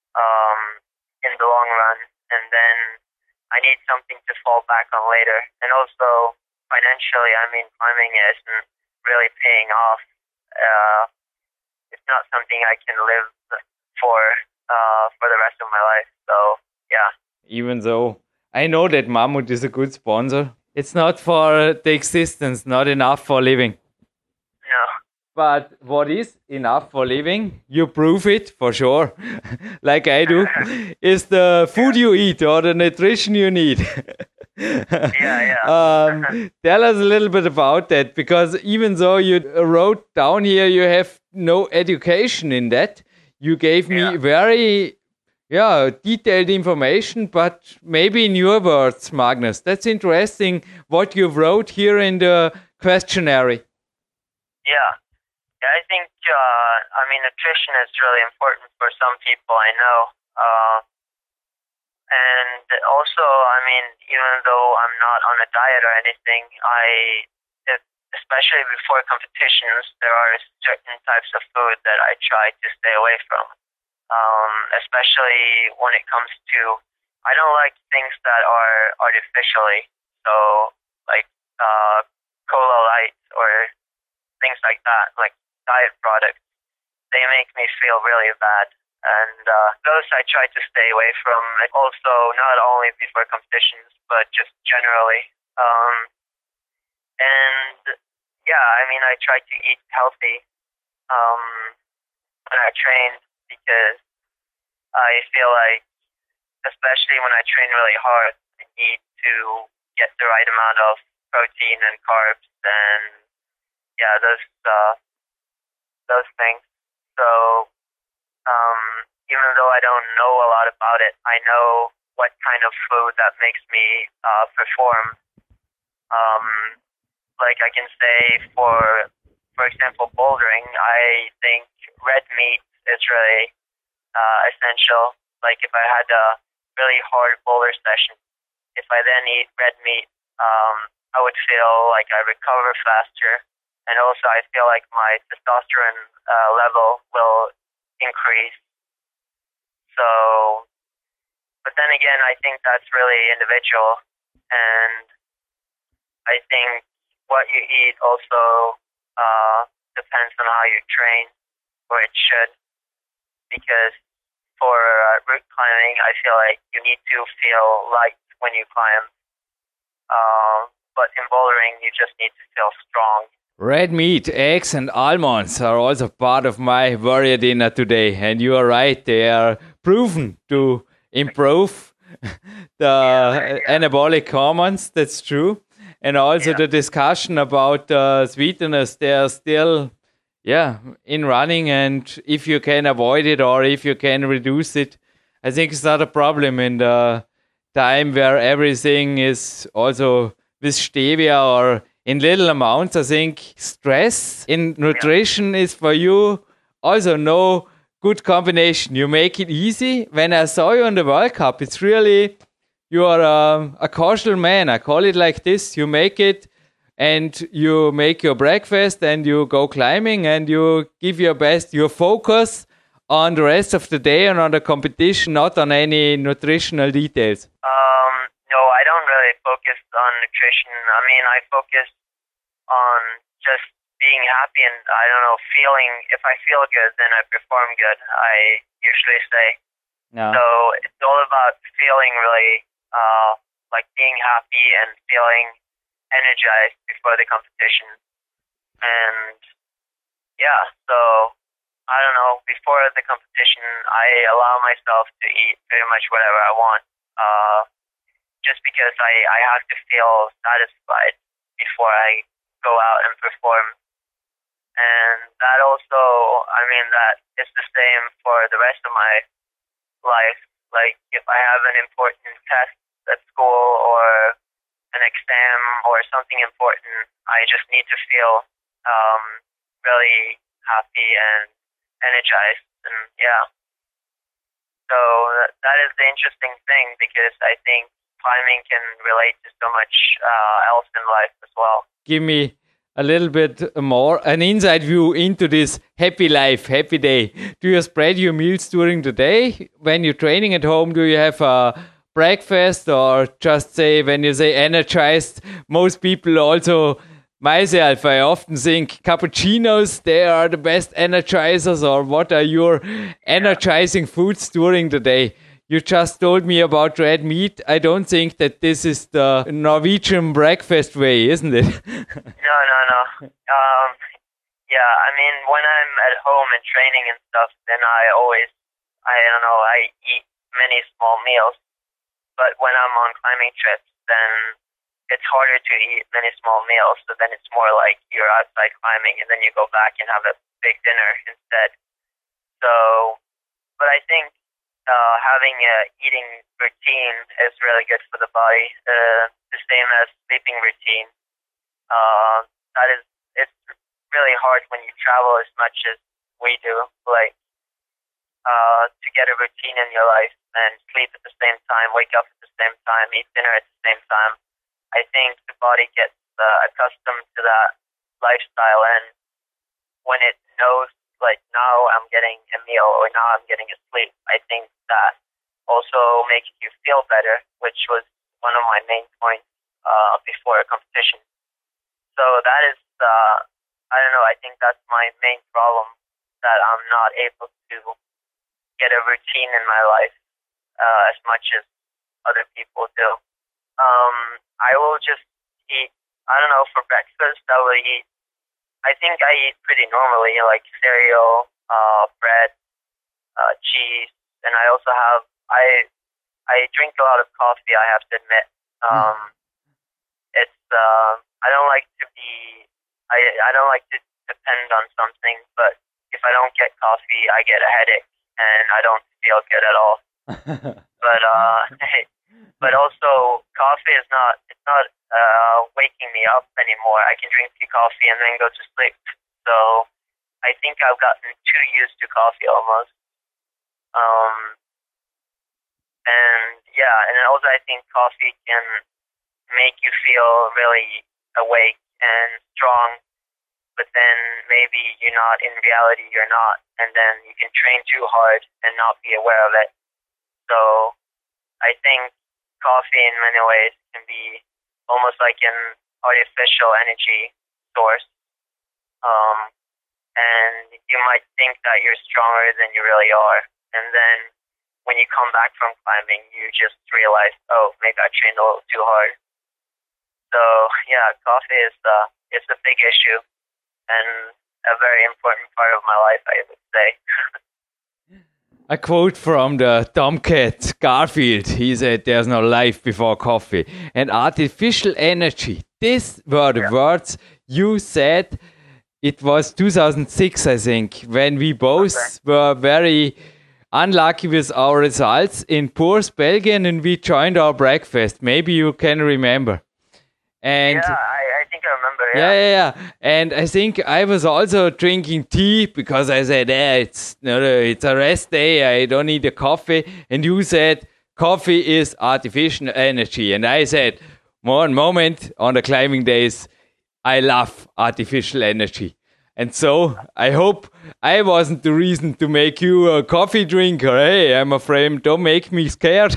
um, in the long run. And then I need something to fall back on later. And also, financially, I mean, climbing isn't really paying off. Uh, it's not something I can live for uh, for the rest of my life. So, yeah. Even though I know that Mammut is a good sponsor, it's not for the existence, not enough for living. No. But what is enough for living, you prove it for sure, like I do, is the food you eat or the nutrition you need. yeah, yeah. um, tell us a little bit about that, because even though you wrote down here you have no education in that, you gave me Yeah. very yeah, detailed information, but maybe in your words, Magnus. That's interesting what you wrote here in the questionnaire. Yeah. Yeah, I think, uh, I mean, nutrition is really important for some people, I know. Uh, and also, I mean, even though I'm not on a diet or anything, I, if, especially before competitions, there are certain types of food that I try to stay away from. Um, especially when it comes to, I don't like things that are artificially, so like uh, cola light or things like that, like diet products. They make me feel really bad, and uh, those I try to stay away from. Also, not only before competitions, but just generally. Um, and yeah, I mean, I try to eat healthy um, when I train, because I feel like, especially when I train really hard, I need to get the right amount of protein and carbs and yeah, those uh, those things. So um, even though I don't know a lot about it, I know what kind of food that makes me uh, perform. Um, like I can say, for for example, bouldering, I think red meat is really uh, essential. Like if I had a really hard boulder session, if I then eat red meat, um, I would feel like I recover faster, and also I feel like my testosterone uh, level will increase. So, but then again, I think that's really individual, and I think what you eat also uh, depends on how you train, or it should, because for uh, route climbing, I feel like you need to feel light when you climb. Uh, but in bouldering, you just need to feel strong. Red meat, eggs and almonds are also part of my warrior dinner today. And you are right, they are proven to improve the yeah, yeah. anabolic hormones, that's true. And also yeah. the discussion about uh, sweeteners, they are still yeah, in running, and if you can avoid it or if you can reduce it, I think it's not a problem in the time where everything is also with stevia or in little amounts. I think stress in nutrition yeah. is for you also no good combination. You make it easy. When I saw you on the World Cup, it's really, you are um, a casual man. I call it like this. You make it, and you make your breakfast and you go climbing and you give your best, your focus on the rest of the day and on the competition, not on any nutritional details. Um, no, I don't really focus on nutrition. I mean, I focus on just being happy and, I don't know, feeling, if I feel good, then I perform good, I usually say. No. So it's all about feeling really, uh, like being happy and feeling energized before the competition. And yeah, so I don't know, before the competition I allow myself to eat pretty much whatever I want, uh, just because I, I have to feel satisfied before I go out and perform. And that also, I mean, that is the same for the rest of my life. Like if I have an important test at school or an exam or something important, I just need to feel um, really happy and energized, and yeah. So that is the interesting thing, because I think climbing can relate to so much uh, else in life as well. Give me a little bit more, an inside view into this happy life, happy day. Do you spread your meals during the day? When you're training at home, do you have a breakfast, or just say when you say energized, most people also, myself, I often think cappuccinos, they are the best energizers, or what are your energizing foods during the day? You just told me about red meat. I don't think that this is the Norwegian breakfast way, isn't it? No, no, no. Um, yeah, I mean, when I'm at home and training and stuff, then I always, I don't know, I eat many small meals. But when I'm on climbing trips, then it's harder to eat many small meals. So then it's more like you're outside climbing and then you go back and have a big dinner instead. So, but I think uh, having a eating routine is really good for the body. Uh, the same as sleeping routine. Uh, that is, it's really hard when you travel as much as we do. Like, Uh, to get a routine in your life and sleep at the same time, wake up at the same time, eat dinner at the same time. I think the body gets uh, accustomed to that lifestyle, and when it knows, like, now I'm getting a meal or now I'm getting a sleep, I think that also makes you feel better, which was one of my main points uh, before a competition. So that is, uh, I don't know, I think that's my main problem, that I'm not able to get a routine in my life uh, as much as other people do. Um, I will just eat, I don't know, for breakfast I will eat, I think I eat pretty normally, like cereal, uh, bread, uh, cheese, and I also have, I I drink a lot of coffee, I have to admit. Um, it's, uh, I don't like to be, I, I don't like to depend on something, but if I don't get coffee, I get a headache. And I don't feel good at all. but uh, but also coffee is not it's not uh, waking me up anymore. I can drink tea coffee and then go to sleep. So I think I've gotten too used to coffee almost. Um, and yeah, and also I think coffee can make you feel really awake and strong. But then maybe you're not, in reality you're not, and then you can train too hard and not be aware of it. So I think coffee in many ways can be almost like an artificial energy source. Um, and you might think that you're stronger than you really are. And then when you come back from climbing, you just realize, oh, maybe I trained a little too hard. So yeah, coffee is uh, it's a big issue. And a very important part of my life, I would say. A quote from the Tomcat Garfield. He said, "There's no life before coffee." And artificial energy. These were the yeah. words you said. It was two thousand six, I think, when we both okay. were very unlucky with our results in Puurs, Belgium, and we joined our breakfast. Maybe you can remember. And yeah, I, I think I remember. Yeah. yeah, yeah, yeah. And I think I was also drinking tea because I said, "Yeah, it's no, no, it's a rest day. I don't need a coffee." And you said, "Coffee is artificial energy." And I said, "One moment, on the climbing days, I love artificial energy." And so I hope I wasn't the reason to make you a coffee drinker. Hey, I'm afraid. Don't make me scared.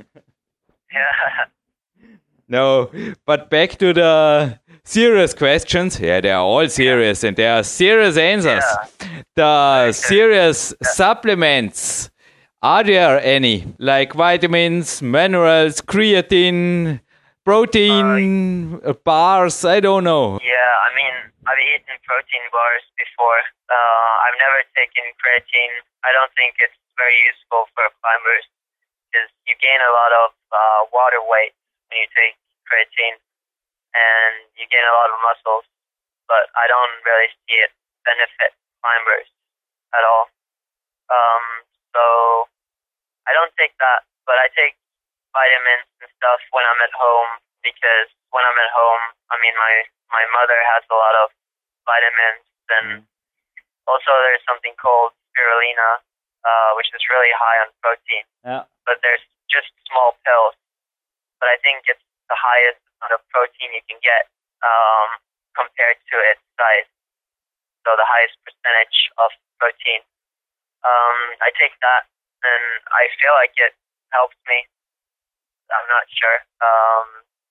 Yeah. No, but back to the serious questions. Yeah, they are all serious, and there are serious answers. Yeah. The Okay. serious Yeah. supplements, are there any? Like vitamins, minerals, creatine, protein, uh, bars, I don't know. Yeah, I mean, I've eaten protein bars before. Uh, I've never taken creatine. I don't think it's very useful for climbers because you gain a lot of uh, water weight when you take creatine, and you gain a lot of muscles, but I don't really see it benefit climbers at all. Um, so I don't take that, but I take vitamins and stuff when I'm at home, because when I'm at home, I mean, my, my mother has a lot of vitamins, and also there's something called spirulina, uh, which is really high on protein, Yeah. but there's just small pills. But I think it's the highest amount of protein you can get um, compared to its size. So the highest percentage of protein. Um, I take that, and I feel like it helps me. I'm not sure. Um,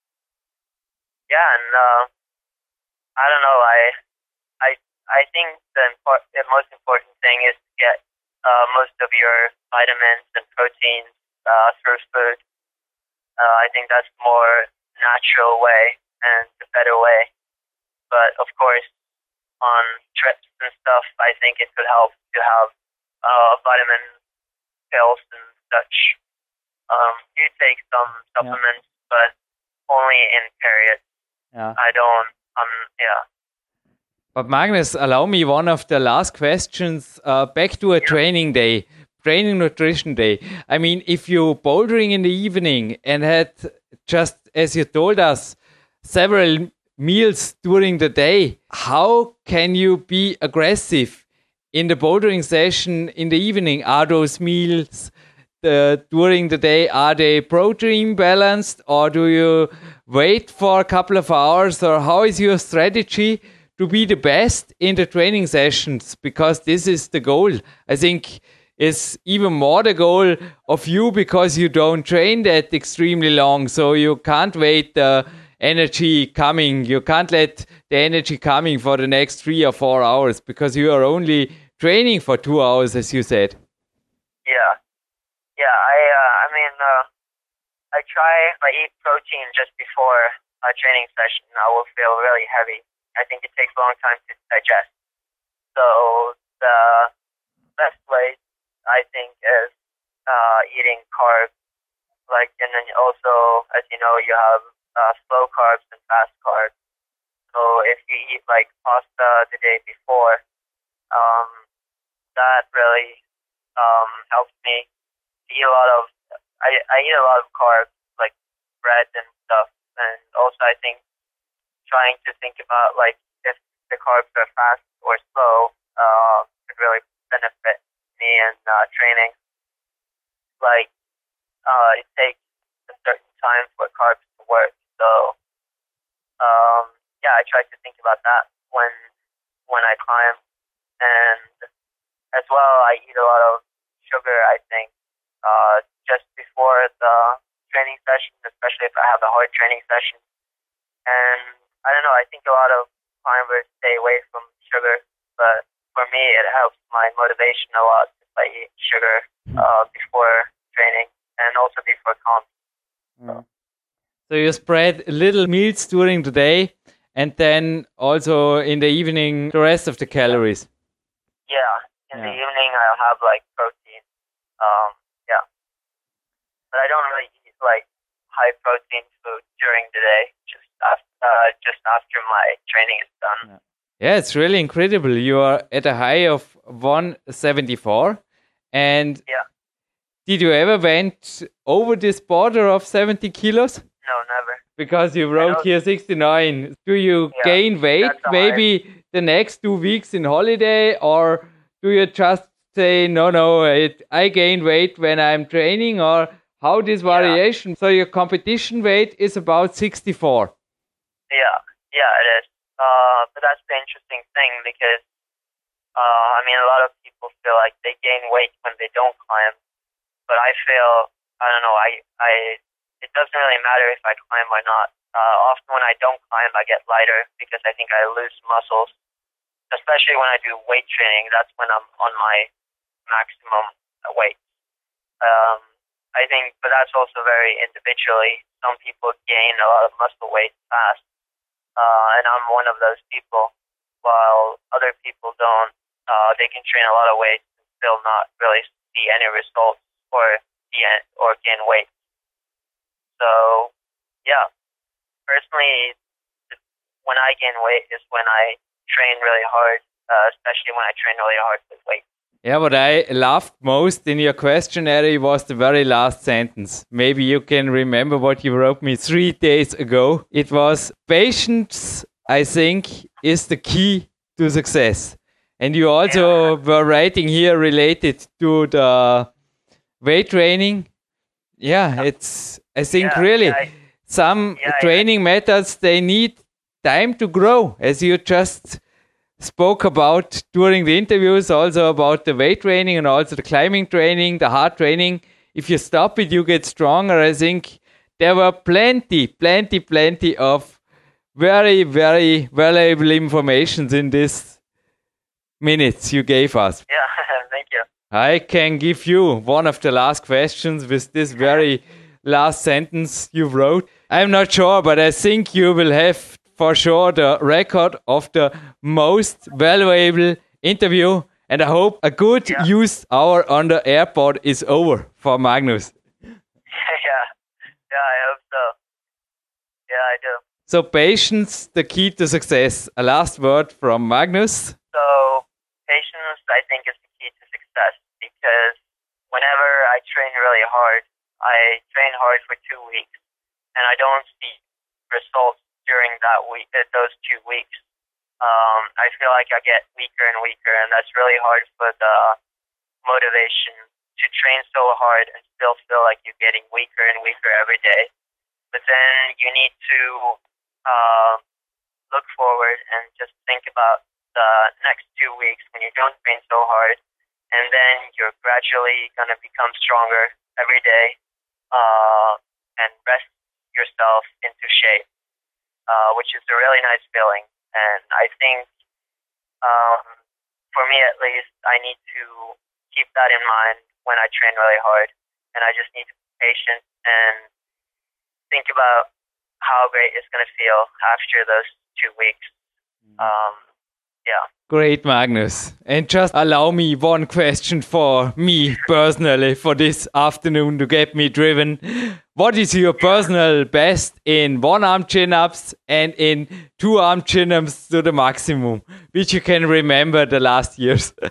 yeah, and uh, I don't know. I I I think the, import, the most important thing is to get uh, most of your vitamins and proteins uh, through food. Uh, I think that's the more natural way and the better way. But of course, on trips and stuff, I think it could help to have uh, vitamin pills and such. Um, you take some supplements, yeah. but only in periods. Yeah. I don't, um, yeah. But Magnus, allow me one of the last questions. Uh, back to a yeah. training day, training nutrition day. I mean, if you're bouldering in the evening and had, just as you told us, several meals during the day, how can you be aggressive in the bouldering session in the evening? Are those meals the, during the day, are they protein balanced, or do you wait for a couple of hours, or how is your strategy to be the best in the training sessions? Because this is the goal. I think it's even more the goal of you, because you don't train that extremely long, so you can't wait the energy coming. You can't let the energy coming for the next three or four hours, because you are only training for two hours, as you said. Yeah. Yeah, I uh, I mean, uh, I try, if I eat protein just before a training session, I will feel really heavy. I think it takes a long time to digest. So the best way, I think, is uh, eating carbs. Like, and then also, as you know, you have uh, slow carbs and fast carbs. So if you eat like pasta the day before, um, that really um, helps me. Eat a lot of, I, I eat a lot of carbs, like bread and stuff, and also I think trying to think about like if the carbs are fast or slow uh, could really benefit me in uh, training. Like uh, it takes a certain time for carbs to work, so um, yeah, I try to think about that when when I climb, and as well I eat a lot of sugar, I think. Uh, just before the training session, especially if I have a hard training session. And I don't know, I think a lot of climbers stay away from sugar, but for me it helps my motivation a lot if I eat sugar uh, before training and also before comp. So. so you spread little meals during the day, and then also in the evening the rest of the calories. Yeah, in yeah. the evening I'll have like protein. Um, Yeah, but I don't really eat like high protein food during the day. Just after, uh, just after my training is done. Yeah. yeah, it's really incredible. You are at a high of one seventy-four, and yeah. Did you ever went over this border of seventy kilos? No, never. Because you wrote here sixty-nine. Do you yeah, gain weight maybe high. the next two weeks in holiday, or do you just say, no, no, it, I gain weight when I'm training, or how this variation? Yeah. So your competition weight is about sixty-four. Yeah, yeah, it is. Uh, but that's the interesting thing, because, uh, I mean, a lot of people feel like they gain weight when they don't climb. But I feel, I don't know, I, I, it doesn't really matter if I climb or not. Uh, often when I don't climb, I get lighter because I think I lose muscles. Especially when I do weight training, that's when I'm on my maximum weight. Um, I think, but that's also very individually. Some people gain a lot of muscle weight fast, uh, and I'm one of those people, while other people don't. Uh, they can train a lot of weight and still not really see any results or gain, or gain weight. So, yeah, personally, when I gain weight is when I train really hard, uh, especially when I train really hard with weight. Yeah, what I laughed most in your questionnaire was the very last sentence. Maybe you can remember what you wrote me three days ago. It was, patience, I think, is the key to success. And you also yeah. were writing here related to the weight training. Yeah, it's, I think yeah, really, yeah, I, some yeah, training yeah. methods, they need time to grow, as you just spoke about during the interviews, also about the weight training and also the climbing training, the hard training. If you stop it, you get stronger. I think there were plenty, plenty, plenty of very, very valuable information in these minutes you gave us. Yeah, thank you. I can give you one of the last questions with this very last sentence you wrote. I'm not sure, but I think you will have for sure the record of the most valuable interview, and I hope a good yeah. used hour on the airport is over for Magnus. yeah, yeah, I hope so. Yeah, I do. So patience, the key to success. A last word from Magnus. So patience, I think, is the key to success, because whenever I train really hard, I train hard for two weeks, and I don't see results during that week, uh, those two weeks. Um, I feel like I get weaker and weaker, and that's really hard for the motivation to train so hard and still feel like you're getting weaker and weaker every day. But then you need to uh, look forward and just think about the next two weeks when you don't train so hard, and then you're gradually going to become stronger every day uh, and rest yourself into shape. Uh, which is a really nice feeling. And I think, um, for me at least, I need to keep that in mind when I train really hard. And I just need to be patient and think about how great it's going to feel after those two weeks. Um, yeah. Great, Magnus. And just allow me one question for me personally for this afternoon to get me driven. What is your personal best in one-arm chin-ups and in two-arm chin-ups to the maximum, which you can remember the last years? I've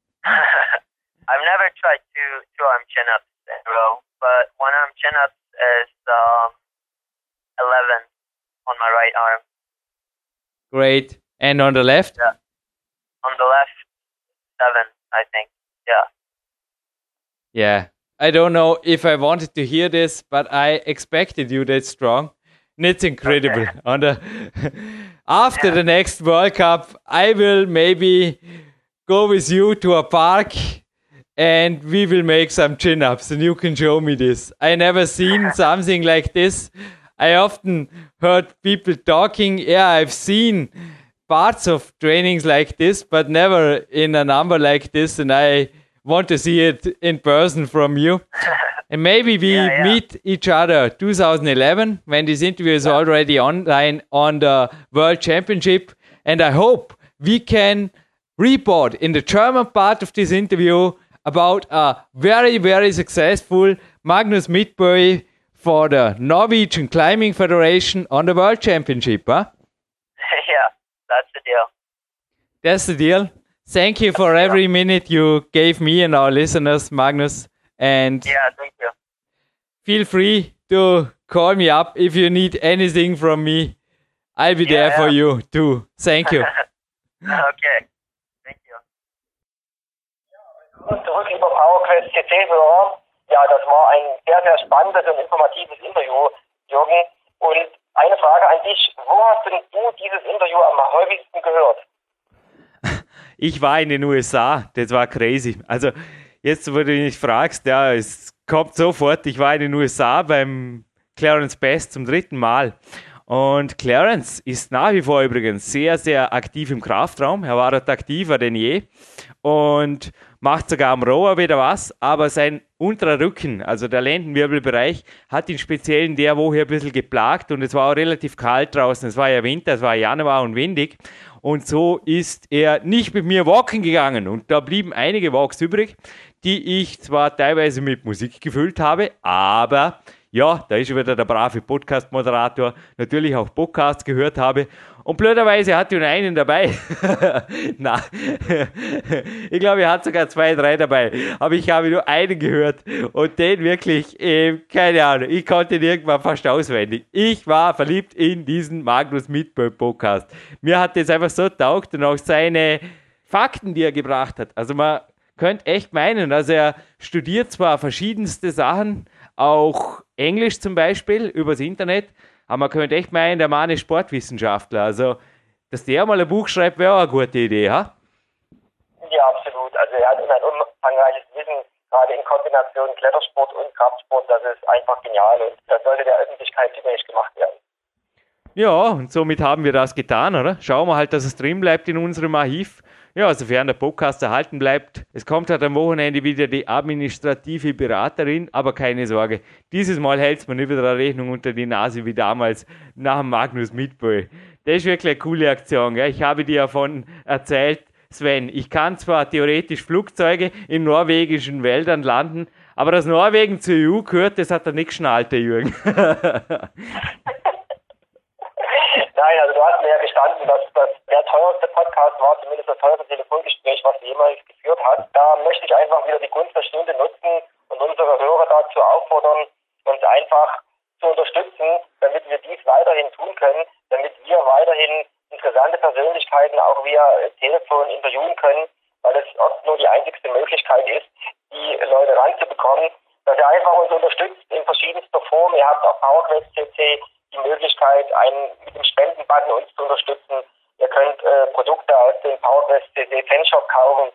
never tried two two-arm chin-ups in a row, but one-arm chin-ups is um, eleven on my right arm. Great. And on the left? Yeah. On the left, seven, I think. Yeah. Yeah. I don't know if I wanted to hear this, but I expected you that strong. And it's incredible. Okay. On the After yeah. the next World Cup, I will maybe go with you to a park and we will make some chin-ups and you can show me this. I never seen something like this. I often heard people talking. Yeah, I've seen parts of trainings like this, but never in a number like this. And I want to see it in person from you. And maybe we yeah, yeah. meet each other two thousand eleven when this interview is already online on the World Championship. And I hope we can report in the German part of this interview about a very, very successful Magnus Midtbø for the Norwegian Climbing Federation on the World Championship. Huh? Yeah, that's the deal. That's the deal. Thank you for every minute you gave me and our listeners, Magnus. And yeah, thank you. Feel free to call me up if you need anything from me. I'll be yeah, there yeah. for you too. Thank you. Okay. Thank you. Zurück über PowerQuest C C-Hörer. Ja, das war ein sehr, sehr spannendes und informatives Interview, Jürgen. Und eine Frage an dich. Wo hast denn du dieses Interview am häufigsten gehört? Ich war in den U S A, das war crazy. Also jetzt, wo du mich fragst, ja, es kommt sofort, ich war in den U S A beim Clarence Bass zum dritten Mal. Und Clarence ist nach wie vor übrigens sehr, sehr aktiv im Kraftraum. Er war dort aktiver denn je und macht sogar am Rower wieder was. Aber sein unterer Rücken, also der Lendenwirbelbereich, hat ihn speziell in der Woche ein bisschen geplagt. Und es war auch relativ kalt draußen. Es war ja Winter, es war Januar und windig. Und so ist er nicht mit mir walken gegangen. Und da blieben einige Walks übrig, die ich zwar teilweise mit Musik gefüllt habe, aber ja, da ist wieder der brave Podcast-Moderator, natürlich auch Podcasts gehört habe. Und blöderweise hat er nur einen dabei. Na, ich glaube, er hat sogar zwei, drei dabei. Aber ich habe nur einen gehört. Und den wirklich, äh, keine Ahnung, ich konnte ihn irgendwann fast auswendig. Ich war verliebt in diesen Magnus Midtbø Podcast. Mir hat das einfach so taugt und auch seine Fakten, die er gebracht hat. Also man könnte echt meinen, also er studiert zwar verschiedenste Sachen, auch Englisch zum Beispiel, übers Internet. Aber man könnte echt meinen, der Mann ist Sportwissenschaftler. Also, dass der mal ein Buch schreibt, wäre auch eine gute Idee, ha? Ja, absolut. Also er hat ein umfangreiches Wissen, gerade in Kombination Klettersport und Kraftsport, das ist einfach genial und das sollte der Öffentlichkeit zugänglich gemacht werden. Ja, und somit haben wir das getan, oder? Schauen wir halt, dass es drin bleibt in unserem Archiv. Ja, sofern der Podcast erhalten bleibt. Es kommt halt am Wochenende wieder die administrative Beraterin, aber keine Sorge. Dieses Mal hält es mir nicht wieder eine Rechnung unter die Nase wie damals nach dem Magnus Midtbø. Das ist wirklich eine coole Aktion. Gell? Ich habe dir davon erzählt, Sven. Ich kann zwar theoretisch Flugzeuge in norwegischen Wäldern landen, aber dass Norwegen zur E U gehört, das hat er nicht geschnallt, der Jürgen. Nein, also du hast mir ja gestanden, dass das der teuerste Podcast war, zumindest das teuerste Telefongespräch, was du jemals geführt hast. Da möchte ich einfach wieder die Gunst der Stunde nutzen und unsere Hörer dazu auffordern, uns einfach zu unterstützen, damit wir dies weiterhin tun können, damit wir weiterhin interessante Persönlichkeiten auch via Telefon interviewen können, weil es oft nur die einzigste Möglichkeit ist, die Leute ranzubekommen, dass ihr einfach uns unterstützt in verschiedenster Form. Ihr habt auf PowerQuest C C die Möglichkeit, einen, mit dem Spendenbutton uns zu unterstützen. Ihr könnt äh, Produkte aus dem PowerQuest C C Fanshop kaufen.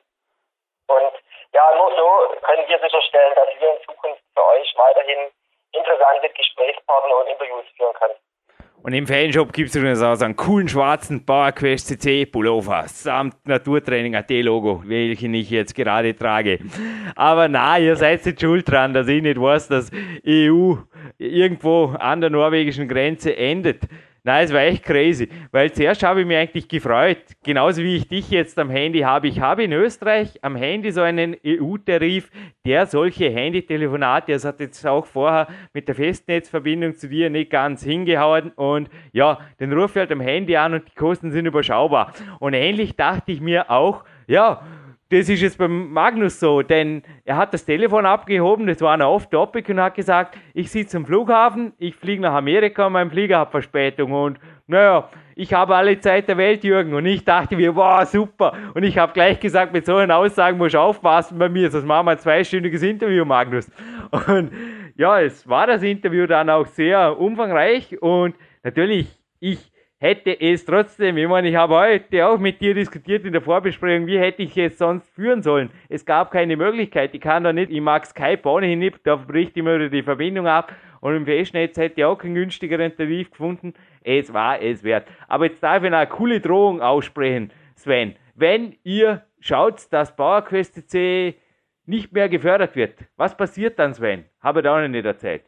Und ja, nur so können wir sicherstellen, dass wir in Zukunft für euch weiterhin interessante Gesprächspartner und Interviews führen können. Und im Fanshop gibt es übrigens auch so einen coolen schwarzen PowerQuest C C Pullover samt Naturtraining A T Logo, welchen ich jetzt gerade trage. Aber na, ihr seid nicht schuld dran, dass ich nicht weiß, dass E U irgendwo an der norwegischen Grenze endet. Nein, es war echt crazy, weil zuerst habe ich mich eigentlich gefreut, genauso wie ich dich jetzt am Handy habe. Ich habe in Österreich am Handy so einen E U-Tarif, der solche Handytelefonate, das hat jetzt auch vorher mit der Festnetzverbindung zu dir nicht ganz hingehauen und ja, den rufe ich halt am Handy an und die Kosten sind überschaubar. Und ähnlich dachte ich mir auch, ja, das ist jetzt beim Magnus so, denn er hat das Telefon abgehoben, das war ein Off-Topic und hat gesagt, ich sitze am Flughafen, ich fliege nach Amerika und mein Flieger hat Verspätung und naja, ich habe alle Zeit der Welt, Jürgen, und ich dachte mir, wow, super, und ich habe gleich gesagt, mit solchen Aussagen musst du aufpassen bei mir, sonst machen wir ein zweistündiges Interview, Magnus. Und ja, es war das Interview dann auch sehr umfangreich und natürlich, ich hätte es trotzdem, ich meine, ich habe heute auch mit dir diskutiert in der Vorbesprechung, wie hätte ich es sonst führen sollen. Es gab keine Möglichkeit, ich kann da nicht, ich mag Skype ohnehin nicht, da bricht immer wieder die Verbindung ab und im Festnetz hätte ich auch keinen günstigeren Tarif gefunden. Es war es wert. Aber jetzt darf ich noch eine coole Drohung aussprechen, Sven. Wenn ihr schaut, dass PowerQuest C C nicht mehr gefördert wird, was passiert dann, Sven? Habe ich da auch noch nicht erzählt.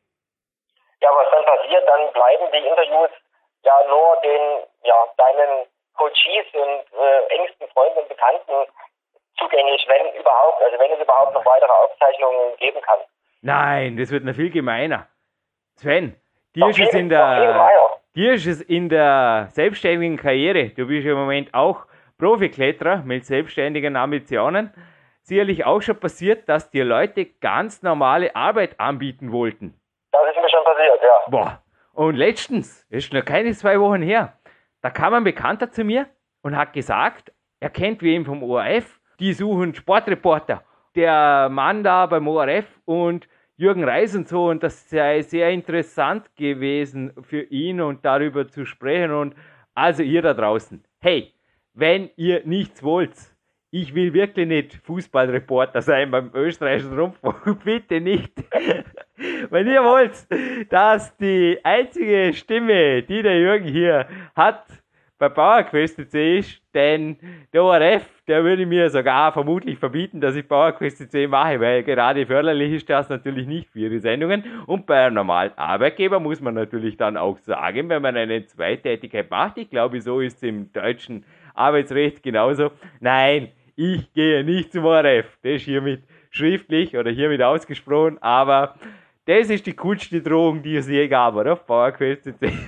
Ja, was dann passiert, dann bleiben die Interviews ja nur den, ja, deinen Coaches und äh, engsten Freunden und Bekannten zugänglich, wenn überhaupt, also wenn es überhaupt noch weitere Aufzeichnungen geben kann. Nein, das wird noch viel gemeiner. Sven, dir ist es in der, dir ist es in der selbstständigen Karriere, du bist im Moment auch Profikletterer mit selbstständigen Ambitionen, sicherlich auch schon passiert, dass dir Leute ganz normale Arbeit anbieten wollten. Das ist mir schon passiert, ja. Boah. Und letztens, ist noch keine zwei Wochen her, da kam ein Bekannter zu mir und hat gesagt, er kennt wen vom O R F, die suchen Sportreporter. Der Mann da beim O R F und Jürgen Reis und so, und das sei sehr interessant gewesen für ihn und darüber zu sprechen. Und also ihr da draußen, hey, wenn ihr nichts wollt, ich will wirklich nicht Fußballreporter sein beim österreichischen Rundfunk, bitte nicht. Wenn ihr wollt, dass die einzige Stimme, die der Jürgen hier hat, bei PowerQuest C C ist, denn der O R F, der würde mir sogar vermutlich verbieten, dass ich PowerQuest C C mache, weil gerade förderlich ist das natürlich nicht für ihre Sendungen. Und bei einem normalen Arbeitgeber muss man natürlich dann auch sagen, wenn man eine Zweitätigkeit macht, ich glaube, so ist es im deutschen Arbeitsrecht genauso, nein, ich gehe nicht zum O R F, das ist hiermit schriftlich oder hiermit ausgesprochen, aber das ist die coolste Drohung, die es je gab, oder? PowerQuest C C.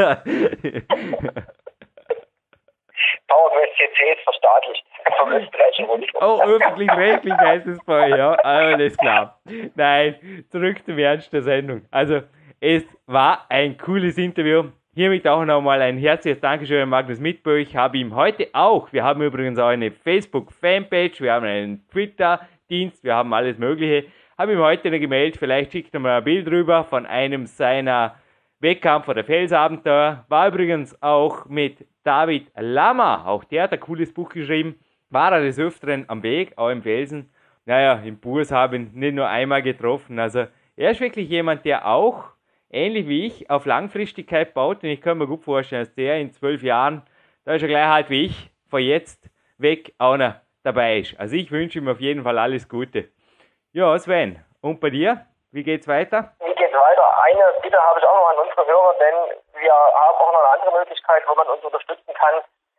PowerQuest C C ist verstaatlicht vom österreichischen Rundfunk. Oh, öffentlich-rechtlich heißt es bei euch, ja, alles klar. Nein, zurück zum Ernst der Sendung. Also, es war ein cooles Interview. Hiermit auch nochmal ein herzliches Dankeschön an Magnus Midtbø. Ich habe ihm heute auch, wir haben übrigens auch eine Facebook-Fanpage, wir haben einen Twitter-Dienst, wir haben alles Mögliche. Habe ihm heute eine gemeldet, vielleicht schickt er mal ein Bild rüber von einem seiner Wettkampf- oder Felsabenteuer. War übrigens auch mit David Lama, auch der hat ein cooles Buch geschrieben. war er des Öfteren am Weg, auch im Felsen. Naja, im Burs habe ich ihn nicht nur einmal getroffen. Also er ist wirklich jemand, der auch, ähnlich wie ich, auf Langfristigkeit baut. Und ich kann mir gut vorstellen, dass der in zwölf Jahren, da ist er gleich halt wie ich, von jetzt weg auch noch dabei ist. Also ich wünsche ihm auf jeden Fall alles Gute. Ja, Sven, und bei dir? Wie geht's weiter? Wie geht's weiter? Eine Bitte habe ich auch noch an unsere Hörer, denn wir haben auch noch eine andere Möglichkeit, wo man uns unterstützen kann.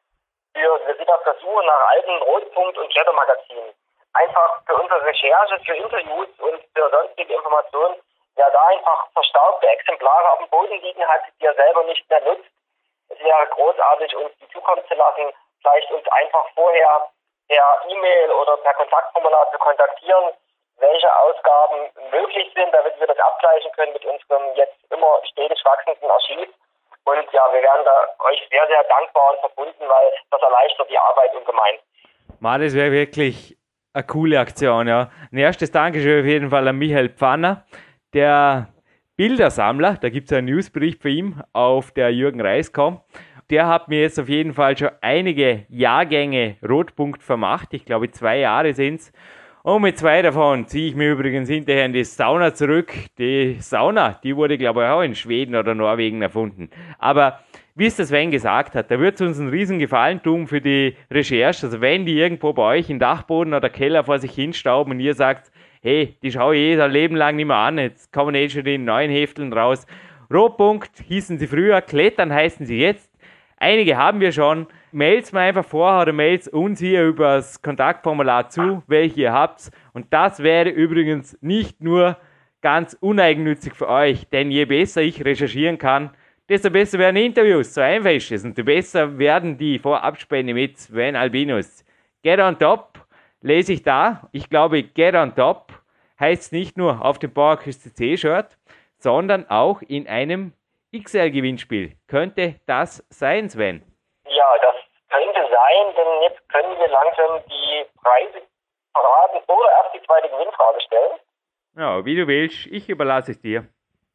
Wir, wir sind auf der Suche nach alten Rotpunkt- und Klettermagazinen. Einfach für unsere Recherche, für Interviews und für sonstige Informationen, wer da einfach verstaubte Exemplare auf dem Boden liegen hat, die er selber nicht mehr nutzt. Es wäre großartig, uns die zukommen zu lassen, vielleicht uns einfach vorher per E-Mail oder per Kontaktformular zu kontaktieren, welche Ausgaben möglich sind, damit wir das abgleichen können mit unserem jetzt immer stetig wachsenden Archiv. Und ja, wir wären da euch sehr, sehr dankbar und verbunden, weil das erleichtert die Arbeit ungemein. Ma, das wäre wirklich eine coole Aktion, ja. Ein erstes Dankeschön auf jeden Fall an Michael Pfanner, der Bildersammler, da gibt es einen Newsbericht für ihn auf der Jürgen Reis Punkt com. Der hat mir jetzt auf jeden Fall schon einige Jahrgänge Rotpunkt vermacht, ich glaube zwei Jahre sind es. Und mit zwei davon ziehe ich mir übrigens hinterher in die Sauna zurück. Die Sauna, die wurde glaube ich auch in Schweden oder Norwegen erfunden. Aber wie es der Sven gesagt hat, da wird es uns einen riesen Gefallen tun für die Recherche. Also wenn die irgendwo bei euch im Dachboden oder Keller vor sich hinstauben und ihr sagt, hey, die schaue ich eh ein Leben lang nicht mehr an, jetzt kommen eh schon die neuen Hefteln raus. Rotpunkt hießen sie früher, Klettern heißen sie jetzt. Einige haben wir schon. Mailt's mir einfach vor oder mailt's uns hier über das Kontaktformular zu, welche ihr habt. Und das wäre übrigens nicht nur ganz uneigennützig für euch, denn je besser ich recherchieren kann, desto besser werden Interviews, so einfach ist es. Und desto besser werden die Vorabspende mit Sven Albinus. Get on top, lese ich da. Ich glaube, Get on top heißt nicht nur auf dem PowerQuest C C-Shirt, sondern auch in einem X L-Gewinnspiel. Könnte das sein, Sven? Ja, das könnte sein, denn jetzt können wir langsam die Preise verraten oder erst die zweite Gewinnfrage stellen. Ja, wie du willst. Ich überlasse es dir.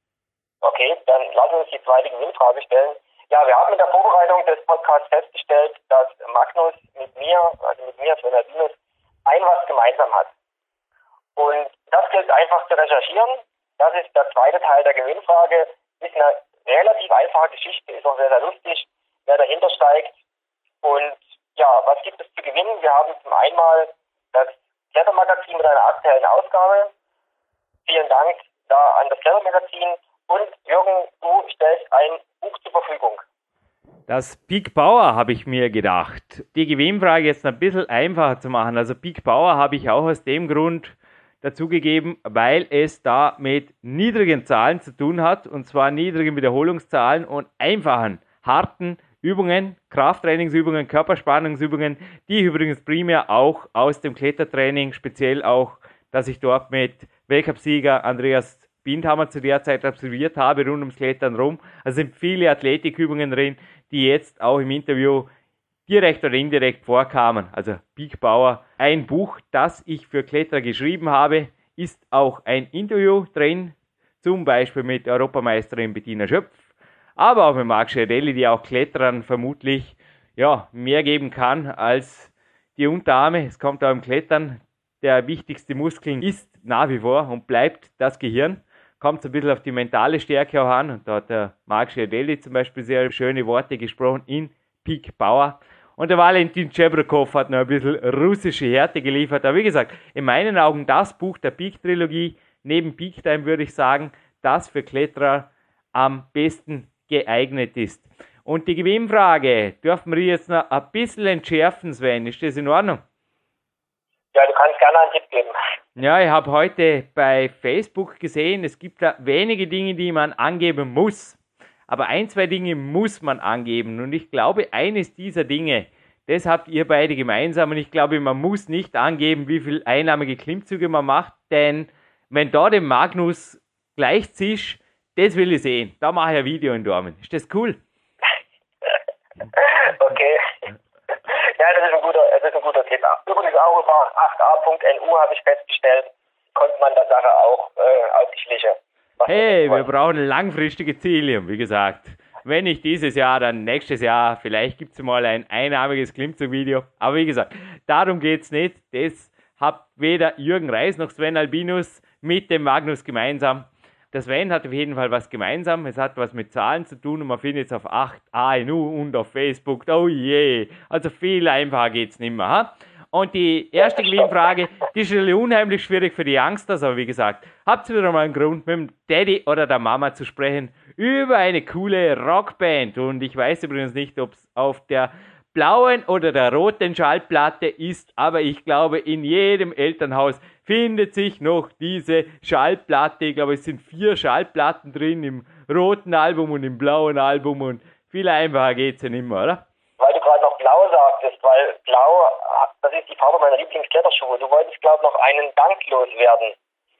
Okay, dann lassen wir uns die zweite Gewinnfrage stellen. Ja, wir haben in der Vorbereitung des Podcasts festgestellt, dass Magnus mit mir, also mit mir, Sven Albinus, ein was gemeinsam hat. Und das gilt einfach zu recherchieren. Das ist der zweite Teil der Gewinnfrage. Ist eine relativ einfache Geschichte, ist auch sehr, sehr lustig, wer dahinter steigt. Und ja, was gibt es zu gewinnen? Wir haben zum einen mal das Klettermagazin mit einer aktuellen Ausgabe. Vielen Dank da an das Klettermagazin. Und Jürgen, du stellst ein Buch zur Verfügung. Das Peak Power habe ich mir gedacht. Die Gewinnfrage jetzt ein bisschen einfacher zu machen. Also Peak Power habe ich auch aus dem Grund dazugegeben, weil es da mit niedrigen Zahlen zu tun hat, und zwar niedrigen Wiederholungszahlen und einfachen, harten Übungen, Krafttrainingsübungen, Körperspannungsübungen, die ich übrigens primär auch aus dem Klettertraining, speziell auch, dass ich dort mit Weltcupsieger Andreas Bindhammer zu der Zeit absolviert habe, rund ums Klettern rum. Also sind viele Athletikübungen drin, die jetzt auch im Interview direkt oder indirekt vorkamen. Also Peak Power, ein Buch, das ich für Kletterer geschrieben habe, ist auch ein Interview drin, zum Beispiel mit Europameisterin Bettina Schöpf, aber auch mit Marc Schiarelli, die auch Kletterern vermutlich ja, mehr geben kann als die Unterarme. Es kommt auch im Klettern, der wichtigste Muskel ist nach wie vor und bleibt das Gehirn. Kommt ein bisschen auf die mentale Stärke auch an, und da hat der Marc Schiarelli zum Beispiel sehr schöne Worte gesprochen in Peak Power. Und der Valentin Chebrokov hat noch ein bisschen russische Härte geliefert. Aber wie gesagt, in meinen Augen das Buch der Peak-Trilogie, neben Peak Time würde ich sagen, das für Kletterer am besten geeignet ist. Und die Gewinnfrage dürfen wir jetzt noch ein bisschen entschärfen, Sven. Ist das in Ordnung? Ja, du kannst gerne einen Tipp geben. Ja, ich habe heute bei Facebook gesehen, es gibt da wenige Dinge, die man angeben muss. Aber ein, zwei Dinge muss man angeben. Und ich glaube, eines dieser Dinge, das habt ihr beide gemeinsam. Und ich glaube, man muss nicht angeben, wie viel einnahmige Klimmzüge man macht. Denn wenn da dem Magnus gleichziehst, das will ich sehen. Da mache ich ein Video in Dormen. Ist das cool? Okay. Ja, das ist ein guter, das ist ein guter Tipp. Übrigens auch über acht a punkt n u habe ich festgestellt, konnte man der Sache auch äh, auf die Schliche. Hey, wir brauchen langfristige Ziele, wie gesagt. wenn nicht dieses Jahr, dann nächstes Jahr. Vielleicht gibt es mal ein einarmiges Klimmzug-Video. Aber wie gesagt, darum geht es nicht. Das hat weder Jürgen Reis noch Sven Albinus mit dem Magnus gemeinsam. Der Sven hat auf jeden Fall was gemeinsam. Es hat was mit Zahlen zu tun und man findet es auf acht A N U und auf Facebook. Oh je, also viel einfacher geht es nicht mehr. Ha? Und die erste Gewinnfrage, die ist natürlich unheimlich schwierig für die Youngsters, aber wie gesagt, habt ihr wieder mal einen Grund, mit dem Daddy oder der Mama zu sprechen über eine coole Rockband. Und ich weiß übrigens nicht, ob es auf der blauen oder der roten Schallplatte ist, aber ich glaube, in jedem Elternhaus findet sich noch diese Schallplatte. Ich glaube, es sind vier Schallplatten drin im roten Album und im blauen Album und viel einfacher geht es ja nicht mehr, oder? Weil du gerade noch blau sagtest, weil blau, das ist die Farbe meiner Lieblingskletterschuhe. Du wolltest, glaube ich, noch einen Dank loswerden.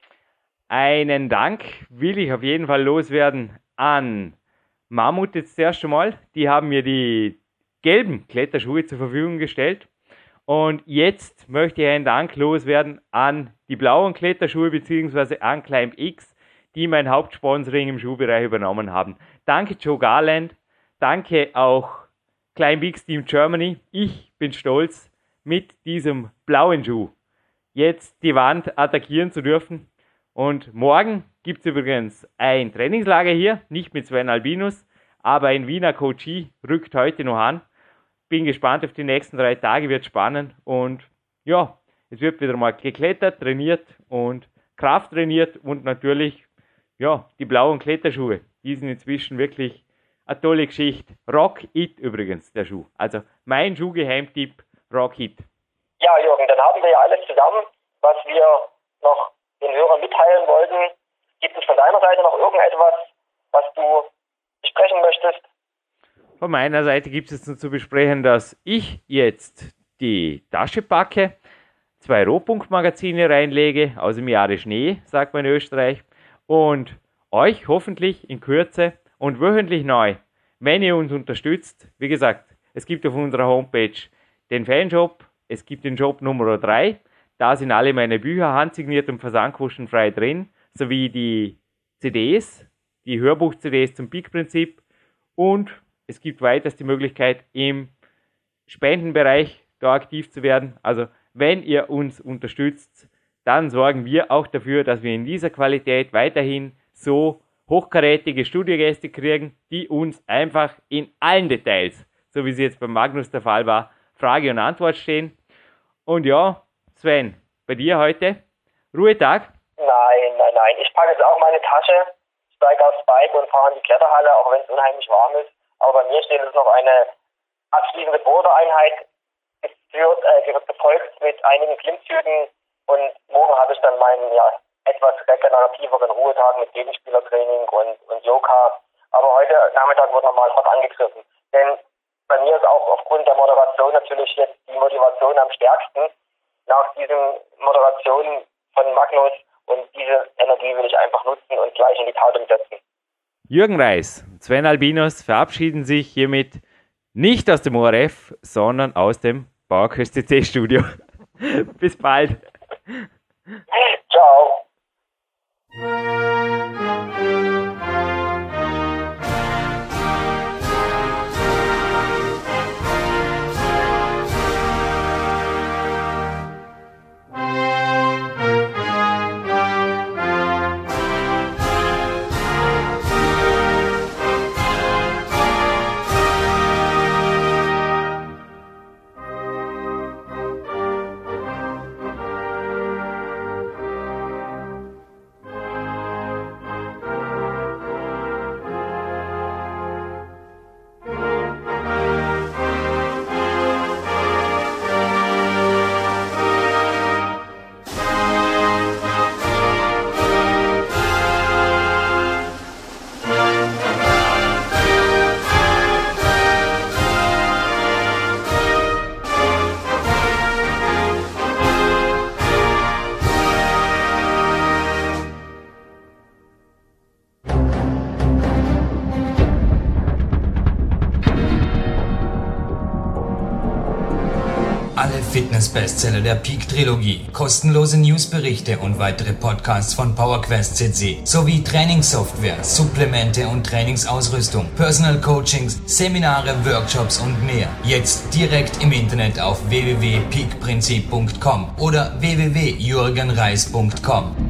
Einen Dank will ich auf jeden Fall loswerden an Mammut jetzt erst einmal. Die haben mir die gelben Kletterschuhe zur Verfügung gestellt. Und jetzt möchte ich einen Dank loswerden an die blauen Kletterschuhe bzw. an Climb X, die mein Hauptsponsoring im Schuhbereich übernommen haben. Danke Joe Garland, danke auch Climb X Team Germany. Ich bin stolz, mit diesem blauen Schuh jetzt die Wand attackieren zu dürfen. Und morgen gibt es übrigens ein Trainingslager hier, nicht mit Sven Albinus, aber ein Wiener Coachie rückt heute noch an. Bin gespannt auf die nächsten drei Tage, wird spannend und ja, es wird wieder mal geklettert, trainiert und Kraft trainiert und natürlich, ja, die blauen Kletterschuhe, die sind inzwischen wirklich eine tolle Geschichte. Rock It übrigens, der Schuh. Also mein Schuhgeheimtipp, Rock It. Ja, Jürgen, dann haben wir ja alles zusammen, was wir noch den Hörern mitteilen wollten. Gibt es von deiner Seite noch irgendetwas, was du besprechen möchtest? Von meiner Seite gibt es nur zu besprechen, dass ich jetzt die Tasche packe, zwei Rohpunktmagazine reinlege, aus dem Jahre Schnee, sagt man in Österreich, und euch hoffentlich in Kürze und wöchentlich neu, wenn ihr uns unterstützt. Wie gesagt, es gibt auf unserer Homepage den Fanshop, es gibt den Shop Nummer drei, da sind alle meine Bücher handsigniert und versandkostenfrei drin, sowie die C Ds, die Hörbuch-C Ds zum Peak-Prinzip und es gibt weiters die Möglichkeit, im Spendenbereich da aktiv zu werden. Also wenn ihr uns unterstützt, dann sorgen wir auch dafür, dass wir in dieser Qualität weiterhin so hochkarätige Studiogäste kriegen, die uns einfach in allen Details, so wie es jetzt beim Magnus der Fall war, Frage und Antwort stehen. Und ja, Sven, bei dir heute Ruhetag? Nein, nein, nein. Ich packe jetzt auch meine Tasche, steige aufs Bike und fahre in die Kletterhalle, auch wenn es unheimlich warm ist. Aber bei mir steht jetzt noch eine abschließende Boulder-Einheit geführt, äh, gefolgt mit einigen Klimmzügen und morgen habe ich dann meinen ja, etwas regenerativeren Ruhetag mit Gegenspielertraining und, und Yoga. Aber heute Nachmittag wird nochmal hart angegriffen. Denn bei mir ist auch aufgrund der Moderation natürlich jetzt die Motivation am stärksten nach diesen Moderationen von Magnus und diese Energie will ich einfach nutzen und gleich in die Tat umsetzen. Jürgen Reis und Sven Albinus verabschieden sich hiermit nicht aus dem O R F, sondern aus dem PowerQuest C C Studio. Bis bald. Ciao. Business-Bestseller der Peak-Trilogie, kostenlose Newsberichte und weitere Podcasts von PowerQuest C C, sowie Trainingssoftware, Supplemente und Trainingsausrüstung, Personal Coachings, Seminare, Workshops und mehr. Jetzt direkt im Internet auf w w w punkt peak prinzip punkt com oder w w w punkt jürgen reis punkt com.